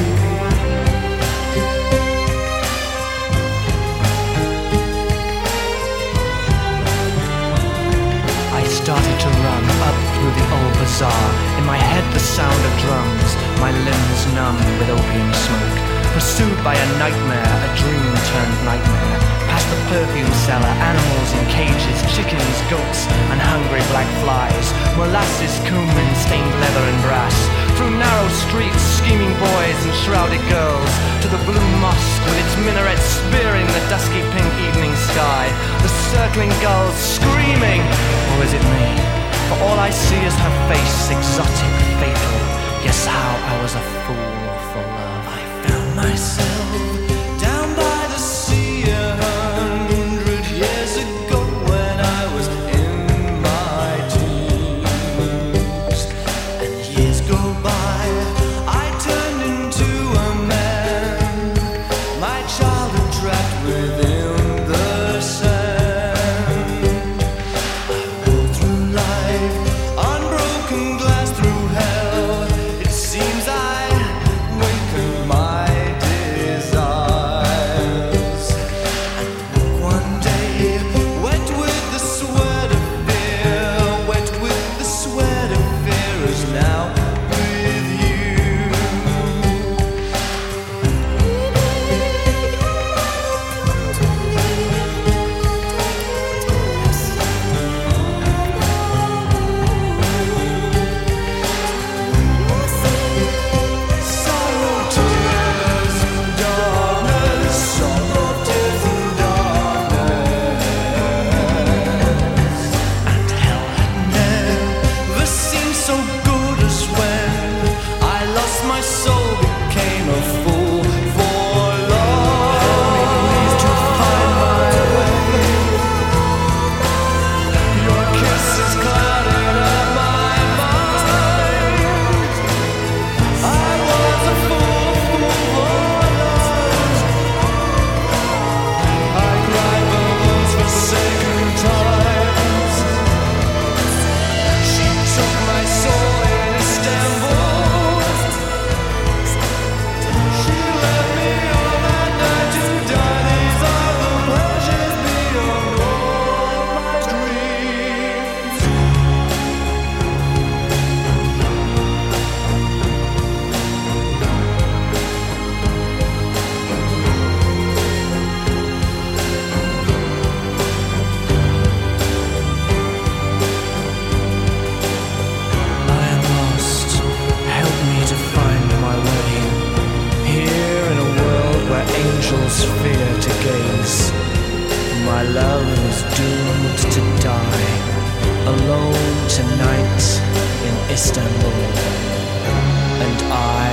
I started to run up through the old bazaar. In my head the sound of drums, my limbs numb with opium smoke. Pursued by a nightmare, a dream turned nightmare. Past the perfume cellar, animals in cages, chickens, goats, and hungry black flies. Molasses, cumin, stained leather and brass. Through narrow streets, scheming boys and shrouded girls. To the blue mosque with its minarets spearing the dusky pink evening sky. The circling gulls screaming, or is it me? For all I see is her face, exotic, fatal. Guess how I was a fool for love. I found myself down by the sea 100 years ago when I was in my teens. And years go by, I turned into a man, my childhood trapped within the sand. I rode through life, unbroken glass through hell. It seems I wakened my desire. cause fear to gaze. My love is doomed to die alone tonight in Istanbul, and I